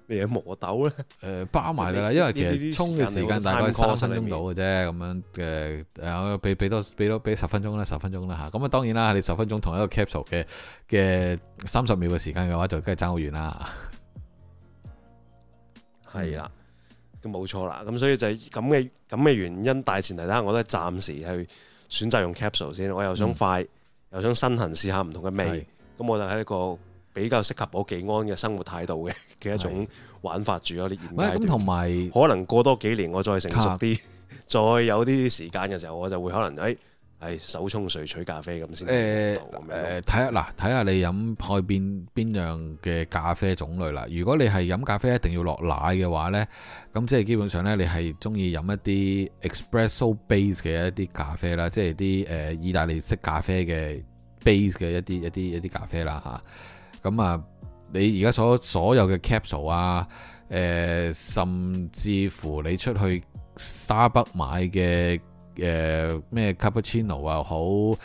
咩嘢磨豆咧？ 誒包埋㗎啦，因為其實沖嘅時間大概三分鐘到嘅啫，咁樣嘅誒俾俾多俾多俾十分鐘啦，十分鐘啦嚇。咁啊當然啦，你十分鐘同一個 capsule 嘅嘅三十秒嘅時間嘅話，就梗係爭好遠啦。 係啦，咁冇錯啦。咁所以就係咁嘅咁嘅原因，大前提底下我都係暫時去選擇用 capsule 先。我又想快，嗯、又想身痕試下唔同嘅味，咁我就喺一個比較適合我技安嘅生活態度嘅嘅一種玩法住咯。啲現階段咁同埋可能過多幾年我再成熟啲，再有啲時間嘅時候，我就會可能誒。哎係手沖萃取咖啡咁先。誒誒，睇下嗱，睇下你飲開邊邊樣嘅咖啡種類啦。如果你係飲咖啡一定要落奶嘅話呢，咁即係基本上呢，你係中意飲一啲 espresso base 嘅一啲咖啡啦，即係啲誒意大利式咖啡嘅 base 嘅一啲一啲一啲咖啡啦嚇。咁啊，你而家所所有嘅 capsule 啊，誒、呃，甚至乎你出去 Starbucks 買嘅。誒咩、呃、cappuccino 又好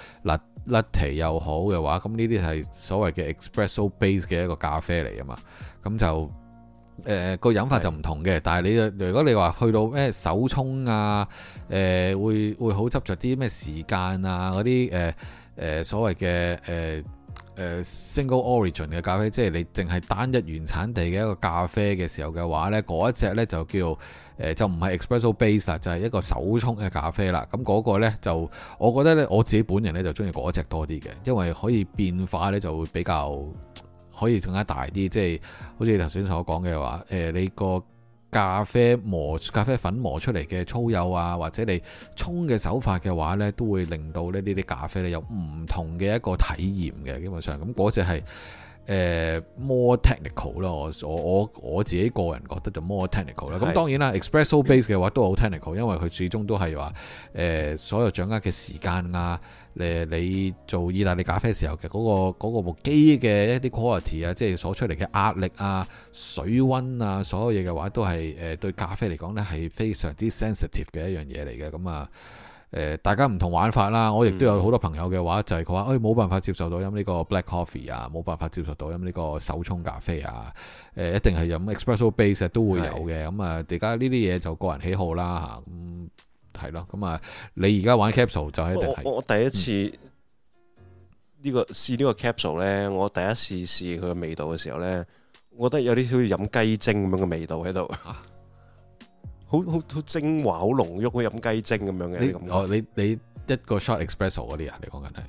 ，latte 又好嘅話，咁呢啲係所謂嘅 espresso base 嘅一個咖啡嚟啊嘛，咁就誒、呃、個飲法就唔同嘅，但係你如果你話去到咩手沖啊，誒、呃、會會好執着啲咩時間啊嗰啲誒誒所謂嘅誒。呃誒、uh, single origin 嘅咖啡，即係你淨係單一原產地嘅一個咖啡嘅時候嘅話呢，嗰一隻呢就叫誒、呃、就唔係 espresso base 啦，就係一個手沖嘅咖啡啦。咁嗰個呢就我覺得呢，我自己本人呢就中意嗰隻多啲嘅，因為可以變化呢就會比較可以更加大啲，即係好似你頭先所講嘅話，誒、呃、你個咖啡磨咖啡粉磨出嚟嘅粗幼啊，或者你沖嘅手法嘅話呢，都會令到呢呢啲咖啡呢有唔同嘅一個體驗嘅。基本上咁嗰隻係誒 more technical 咯，我我我我自己個人覺得就 more technical 啦。咁當然啦 espresso base 嘅話都好 technical，因為佢始終都係話誒所有掌握嘅時間啊，誒你做意大利咖啡時候嘅嗰個嗰個部機嘅一啲 quality 啊，即係所出嚟嘅壓力啊、水溫啊，所有嘢嘅話都係誒對咖啡嚟講呢係非常之 sensitive 嘅一樣嘢嚟嘅。咁啊誒大家唔同玩法啦，我亦都有好多朋友嘅話就係佢話誒冇辦法接受到飲呢個 black coffee 啊，冇辦法接受到飲呢個手沖咖啡啊，誒一定係飲 espresso base 都會有嘅。咁啊而家呢啲嘢就個人喜好啦嚇，咁係咯。咁啊你而家玩 capsule 就係一定係我，我第一次呢、呢個試呢個 capsule 咧，我第一次試佢嘅味道嘅時候咧，我覺得有啲好似飲雞精咁樣嘅味道喺度。好好好精華，好濃郁，好飲雞精咁樣嘅。你哦，你你一個 shot espresso 嗰啲啊？你講緊係？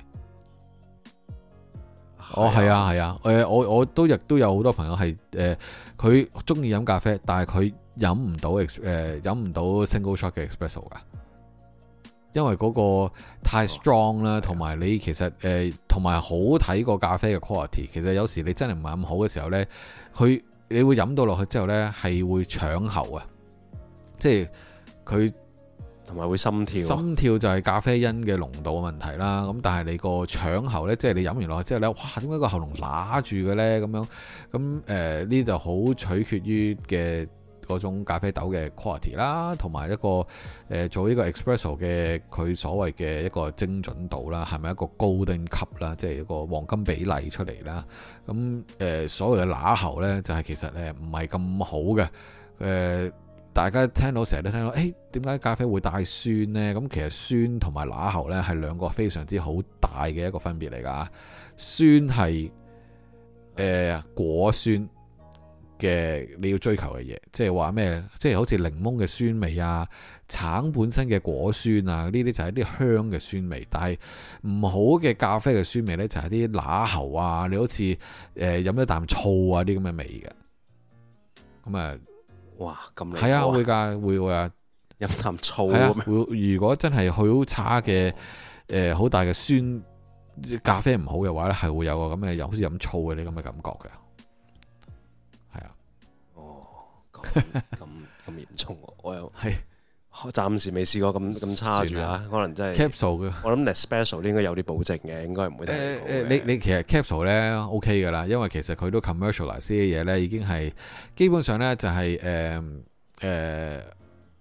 哦，係啊，係啊。誒、呃，我我都亦都有好多朋友係誒，佢中意飲咖啡，但係佢飲唔到誒飲唔到 single shot 嘅 espresso 噶，因為嗰個太 strong 啦，同埋、哦、你其實誒同埋好睇個咖啡嘅 quality。其實有時你真係唔係咁好嘅時候咧，佢你會飲到落去之後咧，係會搶喉啊！即係佢同埋會心跳，心跳就係咖啡因嘅濃度嘅問題啦。咁但係你個腸喉呢，即係你飲完落去之後呢，哇！點解個喉嚨揦住嘅呢？咁樣咁誒呢就好取決於嘅嗰種咖啡豆嘅 quality 啦，同埋一個誒、呃、做呢個 espresso 嘅佢所謂嘅一個精準度啦，係咪一個 golden cup 啦，即係一個黃金比例出嚟啦。咁誒、呃、所謂嘅揦喉呢，就係、是、其實誒唔係咁好嘅誒。呃大家聽到成日都聽到，誒點解咖啡會帶酸呢？咁其實酸同埋揦喉呢係兩個非常之好大嘅一個分別嚟㗎。酸係誒、呃、果酸嘅你要追求嘅嘢，即係話咩？即係好似檸檬嘅酸味啊，橙本身嘅果酸啊，呢啲就係啲香嘅酸味。但係唔好嘅咖啡嘅酸味呢，就係啲揦喉啊，你好似誒飲一啖醋啊啲咁嘅味嘅。咁啊〜哇，咁係啊，會㗎，會會啊，飲啖醋啊，會。如果真係好差嘅，誒，好大嘅酸咖啡唔好嘅話咧，係會有個咁嘅，又好似飲醋嘅啲咁嘅感覺嘅。係啊，哦，咁咁咁嚴重，我又係暫時未試過咁咁差住啊，可能真係 capsule 嘅。我諗 espresso 應該有啲保證嘅，應該唔會太好嘅。誒誒，你你其實 capsule 咧 OK 噶啦，因為其實佢都 commercialize 啲嘢咧，已經係基本上咧就係誒誒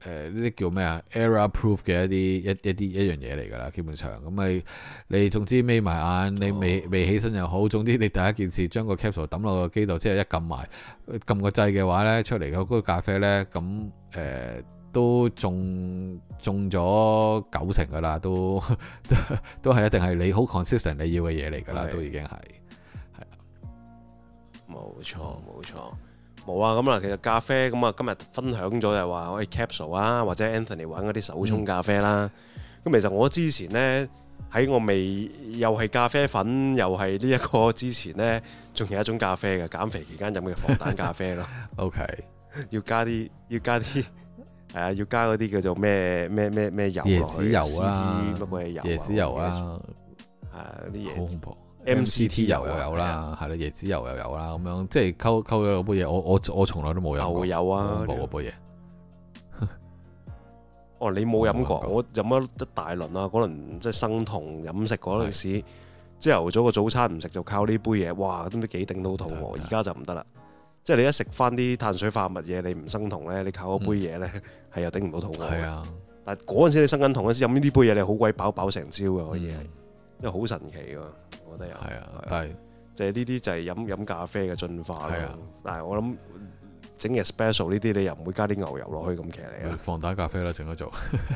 誒呢啲叫咩啊 error proof 嘅一啲一一啲一樣嘢嚟㗎啦，基本上咁你你總之眯埋眼，你未未起身又好，總之你第一件事將個 capsule 抌落個機度，即係一撳埋撳個掣嘅話咧，出嚟嘅嗰個咖啡咧，咁誒、呃、都中中咗九成㗎啦，都都係一定係你好 consistent 你要嘅嘢嚟㗎啦，都已經係係啊， 冇錯冇錯。冇啊，咁啊，其實咖啡咁啊，今日分享咗就係話可以 capsule 啊，或者 Anthony 玩嗰啲手沖咖啡啦。咁、嗯、其實我之前呢，喺我未又係咖啡粉，又係呢一個之前呢，仲有一種咖啡嘅減肥期間飲嘅防彈咖啡咯。OK， 要加啲要加啲係啊，要加嗰啲叫做咩咩咩咩油落去， 椰子油啊， 乜鬼油啊， 椰子油啊， 係啲椰子。 M C T 油又有啦，係啦，椰子油又有啦，咁樣即係溝溝咗嗰杯嘢，我我我從來都冇飲過。牛油啊，冇嗰杯嘢。 哦，你冇飲過？我飲咗一大輪啊！嗰輪即係生酮飲食嗰陣時，朝頭早個早餐唔食就靠呢杯嘢，哇！都唔知幾頂到肚餓。而家就唔得啦，即係你一食翻啲碳水化合物嘢，你唔生酮咧，你靠嗰杯嘢咧係又頂唔到肚餓。係啊，但係嗰陣時你生緊酮嗰時飲呢啲杯嘢，你好鬼飽飽成朝嘅可以係，因為好神奇㗎。我覺得有係啊，但係即係呢啲就係飲飲咖啡嘅進化咯。但係我諗整嘅 special 呢啲，你又唔會加啲牛油落去咁騎嚟啊。 防彈咖啡啦，整咗做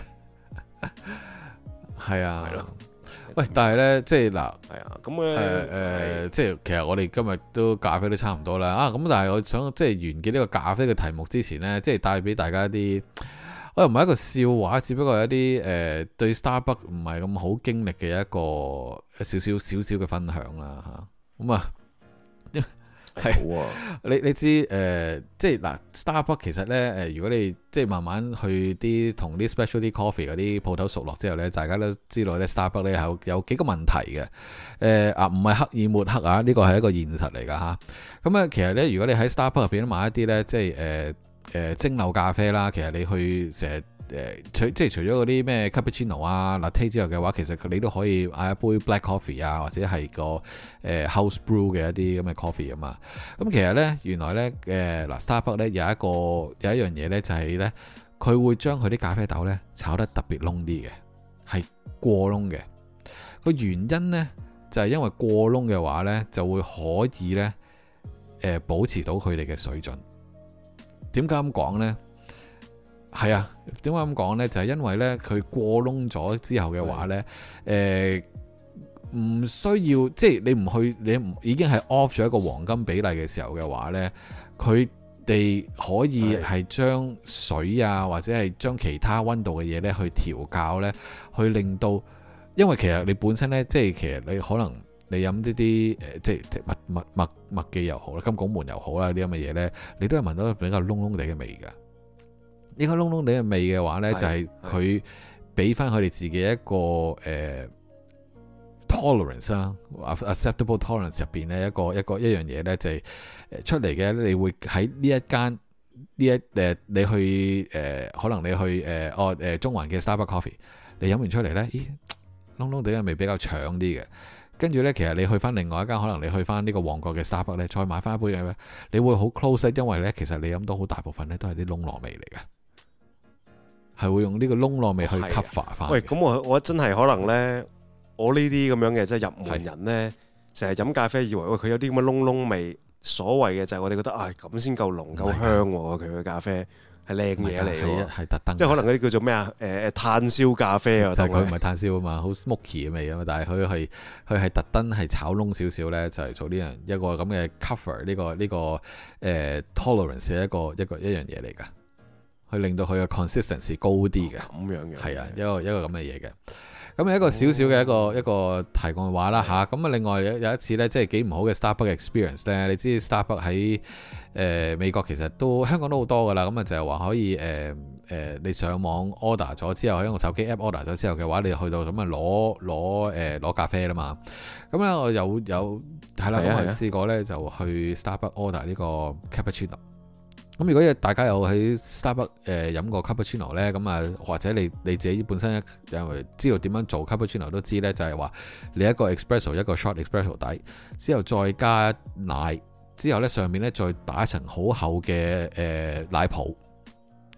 係啊。喂，但係咧，即係嗱， 係啊，咁誒誒，即係其實我哋今日都咖啡都差唔多啦。啊，咁但係我想即係完結呢個咖啡嘅題目之前咧，即係帶俾大家一啲。我又唔係一個笑話，只不過係一啲誒、呃、對 Starbucks 唔係咁好經歷嘅一個少少少少嘅分享啦嚇。咁啊，係好啊！你你知誒、呃，即係嗱 Starbucks 其實咧誒、呃，如果你即係慢慢去啲同啲 specialty coffee 嗰啲鋪頭熟落之後咧，大家都知道咧 Starbucks 咧有有幾個問題嘅。誒、呃、啊，唔係刻意抹黑啊，呢個係一個現實嚟㗎嚇。咁啊，其實咧，如果你喺 Starbucks 入邊買一啲咧，即係誒。呃誒蒸餾咖啡啦，其實你去成日誒除即係除咗嗰啲咩 cappuccino 啊、latte 之外嘅話，其實你都可以嗌一杯 black coffee 啊，或者係個誒、呃、house brew 嘅一啲咁嘅 coffee 啊嘛。咁其實咧，原來咧誒嗱 Starbucks 咧有一個有一樣嘢咧，就係咧佢會將佢啲咖啡豆咧炒得特別燶啲嘅，係過燶嘅。個原因咧就係、是、因為過燶嘅話咧，就會可以咧誒、呃、保持到佢哋嘅水準。點解咁講呢？係啊，點解咁講呢？就係、是、因為呢，佢過燶咗之後嘅話呢，誒、呃，唔需要即係你唔去，你唔已經係 off 咗一個黃金比例嘅時候嘅話呢，佢哋可以係將水啊，或者係將其他溫度嘅嘢呢去調校呢，去令到，因為其實你本身呢，即係其實你可能。你飲呢啲誒，即係即係麥麥麥麥記又好啦，金拱門又好啦，呢啲咁嘅嘢咧，你都係聞到比較燶燶地嘅味㗎。呢個燶燶地嘅味嘅話咧，就係佢俾翻佢哋自己一個誒、呃、tolerance 啦 acceptable tolerance 入邊咧一個一個一樣嘢咧，就係誒出嚟嘅。你會喺呢一間呢一誒，你去誒、呃，可能你去誒哦誒中環嘅 Starbucks Coffee，你飲完出嚟咧，咦燶燶地嘅味比較搶啲嘅。跟住咧，其實你去翻另外一間，可能你去翻呢個旺角嘅 Starbucks 咧，再買翻一杯嘅咧，你會好 close，因為咧，其實你飲到好大部分咧都係啲窿糯味嚟嘅，係會用呢個窿糯味去 cover 翻。喂， 咁我我真係可能咧，我呢啲咁樣嘅即係入門人咧，成日飲咖啡以為喂佢有啲咁嘅窿窿味，所謂嘅就係我哋覺得啊咁先夠濃夠香喎，佢嘅咖啡。係靚嘢嚟嘅， 係特登， 即係可能嗰啲叫做咩啊？誒、呃、誒炭燒咖啡啊， 但係佢唔係炭燒啊嘛，好 smoky 嘅味啊嘛，但係佢係佢係特登係炒燶少少咧，就係、是、做呢樣一個咁嘅 cover 呢、這個呢、這個誒、呃、tolerance 嘅一個一個一樣嘢嚟㗎，去令到佢嘅 consistency 高啲嘅，咁、哦、樣嘅，係啊，一個一個咁嘅嘢嘅。咁一個少少嘅一個、哦、一個題外話啦吓，咁啊另外有有一次咧，即係幾唔好嘅 Starbucks experience 咧。你知 Starbucks 喺誒美國其實都香港都好多噶啦。咁啊就係話可以誒誒、呃、你上網 order 咗之後，喺用手機 app order 咗之後嘅話，你去到咁啊攞攞誒攞咖啡啦嘛。咁咧我有有係啦，咁我試過咧就去 Starbucks order 呢個 cappuccino。咁如果大家有喺 Starbucks 誒飲過 cappuccino 咧，咁啊或者你你自己本身因為知道點樣做 cappuccino 都知咧，就係話你一個 espresso 一個 short espresso 底，之後再加奶，之後咧上面咧再打一層好厚嘅誒奶泡，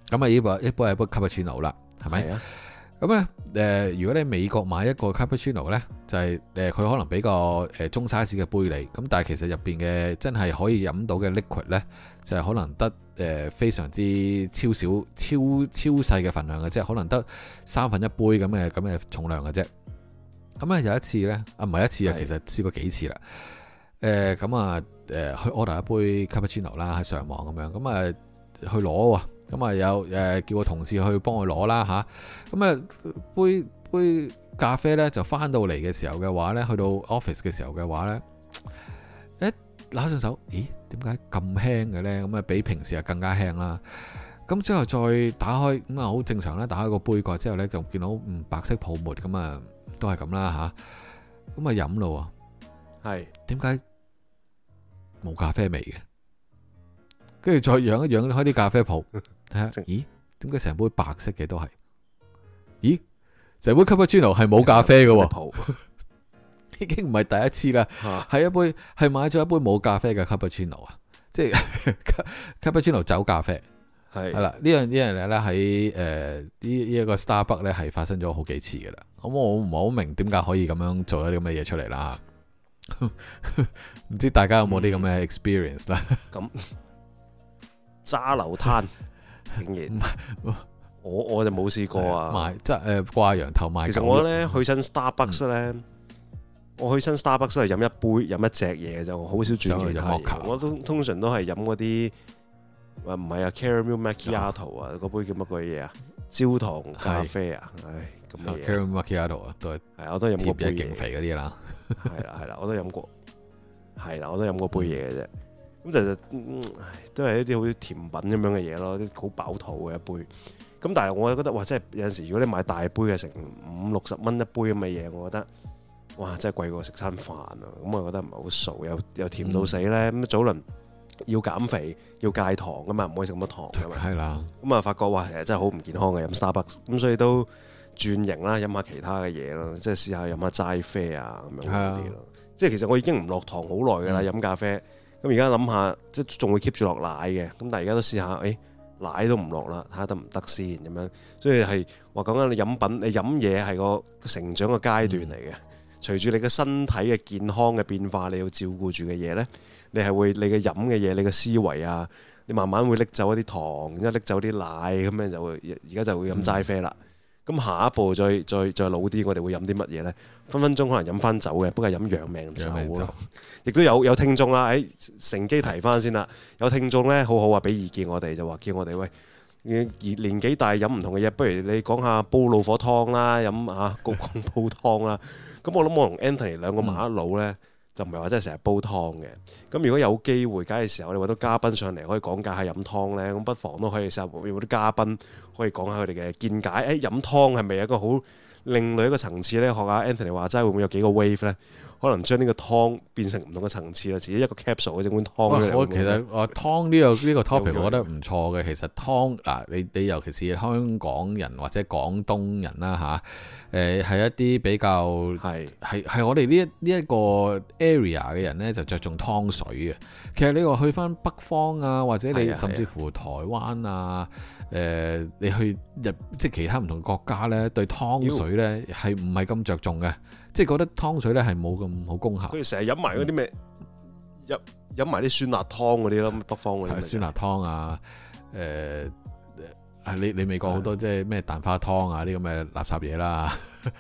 咁啊呢杯一杯係杯 cappuccino 啦，係咪？ 啊。 咁咧誒，如果你美國買一個 cappuccino 咧，就係誒佢可能俾個誒中 size 嘅杯你，咁但係其實入邊嘅真係可以飲到嘅 liquid 咧，就係可能得誒非常之超少、超超細嘅份量嘅啫，可能得三分一杯咁嘅咁嘅重量嘅啫。咁啊有一次咧，啊唔係一次啊，其實試過幾次啦。誒咁啊誒去 order 一杯 cappuccino 啦，喺上網咁樣，咁啊去攞喎。咁啊有誒叫個同事去幫我攞啦吓，咁啊杯杯咖啡咧就翻到嚟嘅時候嘅話咧，去到 office 嘅時候嘅話咧，誒拿上手，咦點解咁輕嘅咧？咁啊比平時啊更加輕啦。咁之後再打開，咁啊好正常啦。打開個杯蓋之後咧，就見到嗯白色泡沫，咁啊都係咁啦吓。咁啊飲咯，係點解冇咖啡味嘅？跟住再養一養開啲咖啡泡。睇下，咦？點解成杯白色嘅都係？咦？成杯 cappuccino 係冇咖啡嘅喎，已經唔係第一次啦。係一杯係買咗一杯冇咖啡嘅 cappuccino 啊，即係 cappuccino 走咖啡。係係啦，呢樣呢樣嘢咧喺誒呢呢一個 Starbucks 咧係發生咗好幾次嘅啦。咁我唔係好明點解可以咁樣做一啲咁嘅嘢出嚟啦。唔知大家有冇啲咁嘅 experience 啦？咁揸流灘。竟然，我我就冇試過啊！ 賣即係誒掛羊頭賣狗肉。其實我咧去親 Starbucks 咧、嗯，我去親 Starbucks 都係飲一杯飲一隻嘢嘅啫，我好少轉其他嘢。我都通常都係飲嗰啲，話唔係啊 Caramel Macchiato 啊，嗰杯叫乜鬼嘢啊？焦糖咖啡啊，唉咁嘅嘢。 Caramel Macchiato 啊，都係係我都飲過杯勁肥嗰啲啦。 係啦係啦，我都飲過，係啦我都飲過杯嘢嘅啫。咁就就、嗯、都係一啲好似甜品咁樣嘅嘢咯，啲好飽肚嘅一杯。咁但係我覺得哇，真係有陣時如果你買大杯嘅成五六十蚊一杯咁嘅嘢，我覺得哇，真係貴過食餐飯啊！咁我覺得唔係好數，又又甜到死咧。咁、嗯、早輪要減肥要戒糖噶嘛，唔可以食咁多糖噶嘛。係啦。咁啊發覺哇，其實真係好唔健康嘅飲 Starbucks。咁所以都轉型啦，飲下其他嘅嘢咯，即係試下飲下齋啡啊咁樣嗰啲咯。即係其實我已經唔落糖好耐噶啦，飲、嗯、咖啡。咁而家諗下，即係仲會 keep 住落奶嘅，咁但係而家都試下，誒、哎、奶都唔落啦，睇下得唔得先咁樣。所以係話講緊你飲品，你飲嘢係個成長嘅階段嚟嘅。嗯、隨住你嘅身體嘅健康嘅變化，你要照顧住嘅嘢咧，你係會你嘅飲嘅嘢，你嘅思維啊，你慢慢會拎走一啲糖，然之後拎走啲奶，咁樣就會而家就會飲齋啡啦。咁、嗯、下一步再再再老啲，我哋會飲啲乜嘢咧？分分鐘可能飲翻酒嘅，不過係飲養命酒咯。亦都有有聽眾啦，誒乘機提翻先啦。有聽眾咧，好好啊，俾意見我哋就話叫我哋喂，年紀大飲唔同嘅嘢，不如你講下煲老火湯啦，飲下焗烘煲湯啦。咁我諗我同 Anthony 兩個麻甩佬咧，就唔係話真係成日煲湯嘅。咁如果有機會，假嘅時候，你揾到嘉賓上嚟可以講解下飲湯咧，咁不妨都可以試下有啲嘉賓可以講下佢哋嘅見解。誒飲湯係咪一個好另類一個層次咧？學下 Anthony 話齋會唔會有幾個 wave 咧？可能將呢個湯變成唔同嘅層次啦，自己一個 capsule 嘅整碗湯。我其實我湯呢個呢個 topic 我覺得唔錯嘅。其實湯嗱，你你尤其是香港人或者廣東人啦吓，誒係一啲比較係係係我哋呢一呢一個 area 嘅人咧，就着重湯水嘅。其實你話去翻北方啊，或者你甚至乎台灣啊，誒你去日即係其他唔同國家咧，對湯水咧係唔係咁着重嘅？即係覺得湯水咧係冇咁好功效。佢哋成日飲埋嗰啲咩，飲飲埋啲酸辣湯嗰啲咯，北方嗰啲。酸辣湯啊，誒、呃，係你你美國好多即係咩蛋花湯啊啲咁嘅垃圾嘢啦。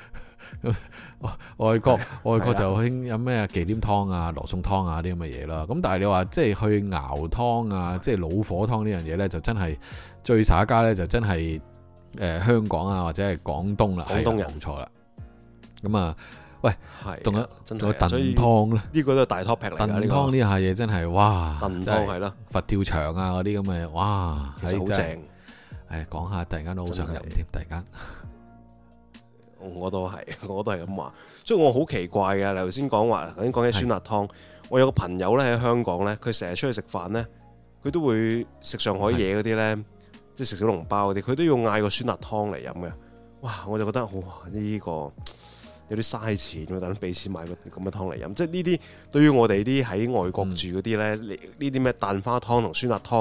外國外國就興飲咩忌廉湯啊、羅宋湯啊啲咁嘅嘢啦。咁但係你話即係去熬湯啊，即係老火湯呢樣嘢咧，就真係最耍家咧，就真係誒、呃、香港啊或者係廣東啦，廣東人冇錯啦。咁啊，喂，仲有仲有燉湯咧？呢個都係大 topic 嚟㗎。燉湯呢下嘢真係哇！燉湯係咯，佛跳牆啊嗰啲咁嘅，哇，其實好正。誒，講下突然間都好想飲添，突然間。我都係，我都係咁話。所以我好奇怪嘅，你頭先講話，頭先講起酸辣湯，我有個朋友咧喺香港咧，佢成日出去食飯咧，佢都會食上海嘢嗰啲咧，即係食小籠包嗰啲，佢都要嗌個酸辣湯嚟飲嘅。哇！我就覺得哇，呢個〜有啲嘥錢喎，等俾錢買個咁嘅湯嚟飲，即係呢啲對於我哋啲喺外國住嗰啲咧，呢啲咩蛋花湯同酸辣湯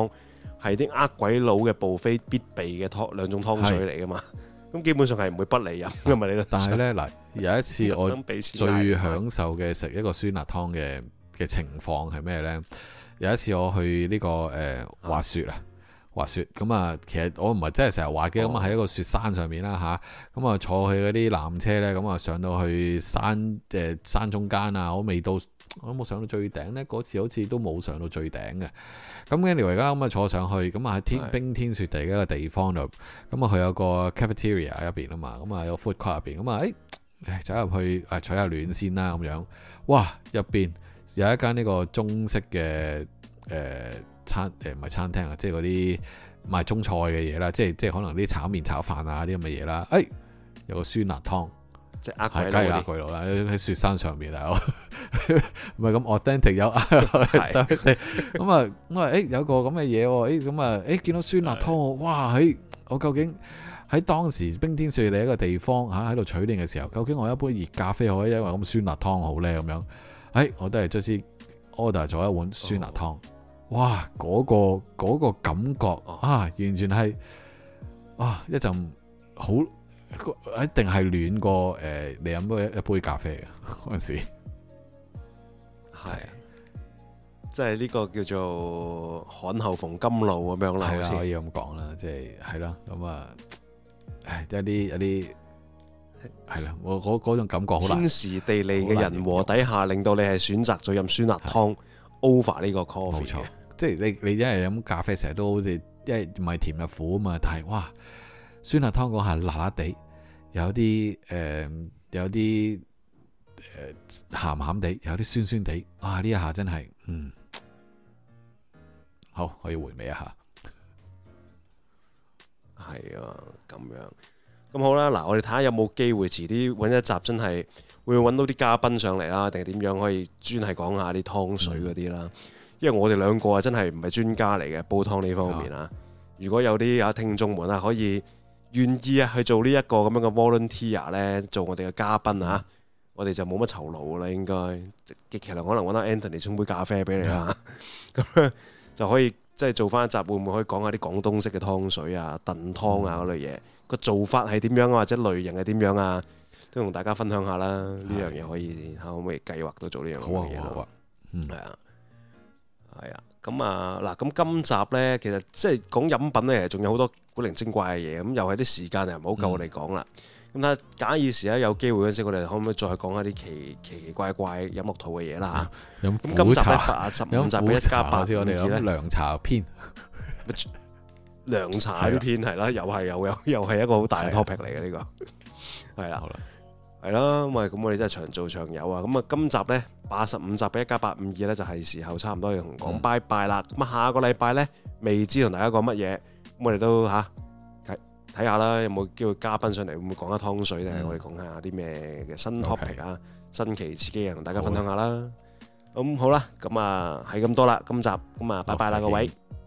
係啲呃鬼佬嘅buffet非必備嘅湯兩種湯水嚟噶嘛。咁基本上係唔會不離飲噶嘛，你都。但係咧嗱，有一次我最享受嘅食一個酸辣湯嘅嘅情況係咩咧？有一次我去呢、這個誒、呃、滑雪啊，滑雪咁啊，其實我唔係真係成日滑嘅，咁啊喺一個雪山上面啦吓，咁啊坐去嗰啲纜車咧，咁啊上到去山誒、呃、山中間啊，我未到，我都冇上到最頂咧，嗰次好似都冇上到最頂嘅。咁跟住而家咁啊坐上去，咁啊喺天冰天雪地嘅一個地方度，咁啊佢有個 cafeteria 入邊啊嘛，咁啊有 food court 入邊，咁啊誒走入去誒取下暖先啦咁樣，哇入邊有一間呢個中式嘅誒、呃、餐誒唔係餐廳啊，即係嗰啲賣中菜嘅嘢啦，即係即係可能啲炒麵炒飯啊啲咁嘅嘢啦，誒、哎、有個酸辣湯。即係呃鬼佬，呃鬼佬啦！喺雪山上面啊，唔係咁 authentic 有呃咁啊！我話誒有個咁嘅嘢喎，誒咁啊誒見到酸辣湯，哇！喺我究竟喺當時冰天雪地一個地方嚇喺度取暖嘅時候，究竟我一杯熱咖啡可以因為咁酸辣湯好咧咁樣？誒、哎、我都係即時 order 咗一碗酸辣湯，哦、哇！嗰、嗰個嗰個感覺啊，完全係啊一陣好〜一定係暖過誒、呃，你飲咗一杯咖啡嘅嗰陣時，係即係呢個叫做旱後逢甘露咁樣啦，係啦，可以咁講啦，即係係啦，咁啊，誒，有啲有啲係啦，我嗰嗰種感覺好難，天時地利嘅人和底下，令到你係選擇咗飲酸辣湯 over 呢個 coffee 嘅，即係你你一係飲咖啡成日都好似一係唔係甜又苦啊嘛，但係哇！酸辣湯嗰下辣辣地，有啲誒、呃，有啲誒鹹鹹地，有啲酸酸地，啊呢一下真係，嗯，好可以回味一下。係啊，咁樣，咁好啦，嗱，我哋睇下有冇機會遲啲揾一集，真係會揾到啲嘉賓上嚟啦，定係點樣可以專係講下啲湯水嗰啲啦？嗯、因為我哋兩個啊，真係唔係專家嚟嘅煲湯呢方面啊。如果有啲啊聽眾們啊，可以。願意啊去做呢一個咁樣嘅 volunteer 咧，做我哋嘅嘉賓啊，我哋就冇乜酬勞啦，應該極其量可能揾阿 Anthony 沖杯咖啡俾你啦，咁、嗯、就可以即係做翻一集，會唔會可以講下啲廣東式嘅湯水啊、燉湯啊嗰類嘢，個做法係點樣啊，或者類型係點樣啊，都同大家分享下啦。呢樣嘢可以可唔可以計劃到做呢樣嘢咯？係啊，係啊。咁啊嗱，咁今集呢，其實即係講飲品呢，仲有好多古靈精怪嘅嘢，咁又係啲時間又唔好夠我哋講啦。咁睇下假以時咧，有機會嗰陣時，我哋可唔可以再講下啲奇奇奇怪怪飲落肚嘅嘢啦嚇？咁今集咧八十五集嘅一加八，我哋咧涼茶篇，涼茶呢篇係啦，又係又又又係一個好大嘅 topic 嚟嘅呢個，係啦。係啦，咁啊，咁我哋真係長做長有啊！咁啊，今集呢，八十五集嘅一加八五二呢，就係時候差唔多要同講拜拜啦。咁啊，下個禮拜呢，未知同大家講乜嘢，咁我哋都吓睇睇下啦，有冇機會嘉賓上嚟，會唔會講下湯水咧？嗯、我哋講下啲咩嘅新 topic 啊，Okay. 新奇刺激嘅，同大家分享下啦。咁好啦，咁啊係咁多啦，今集咁啊，拜拜啦，各位。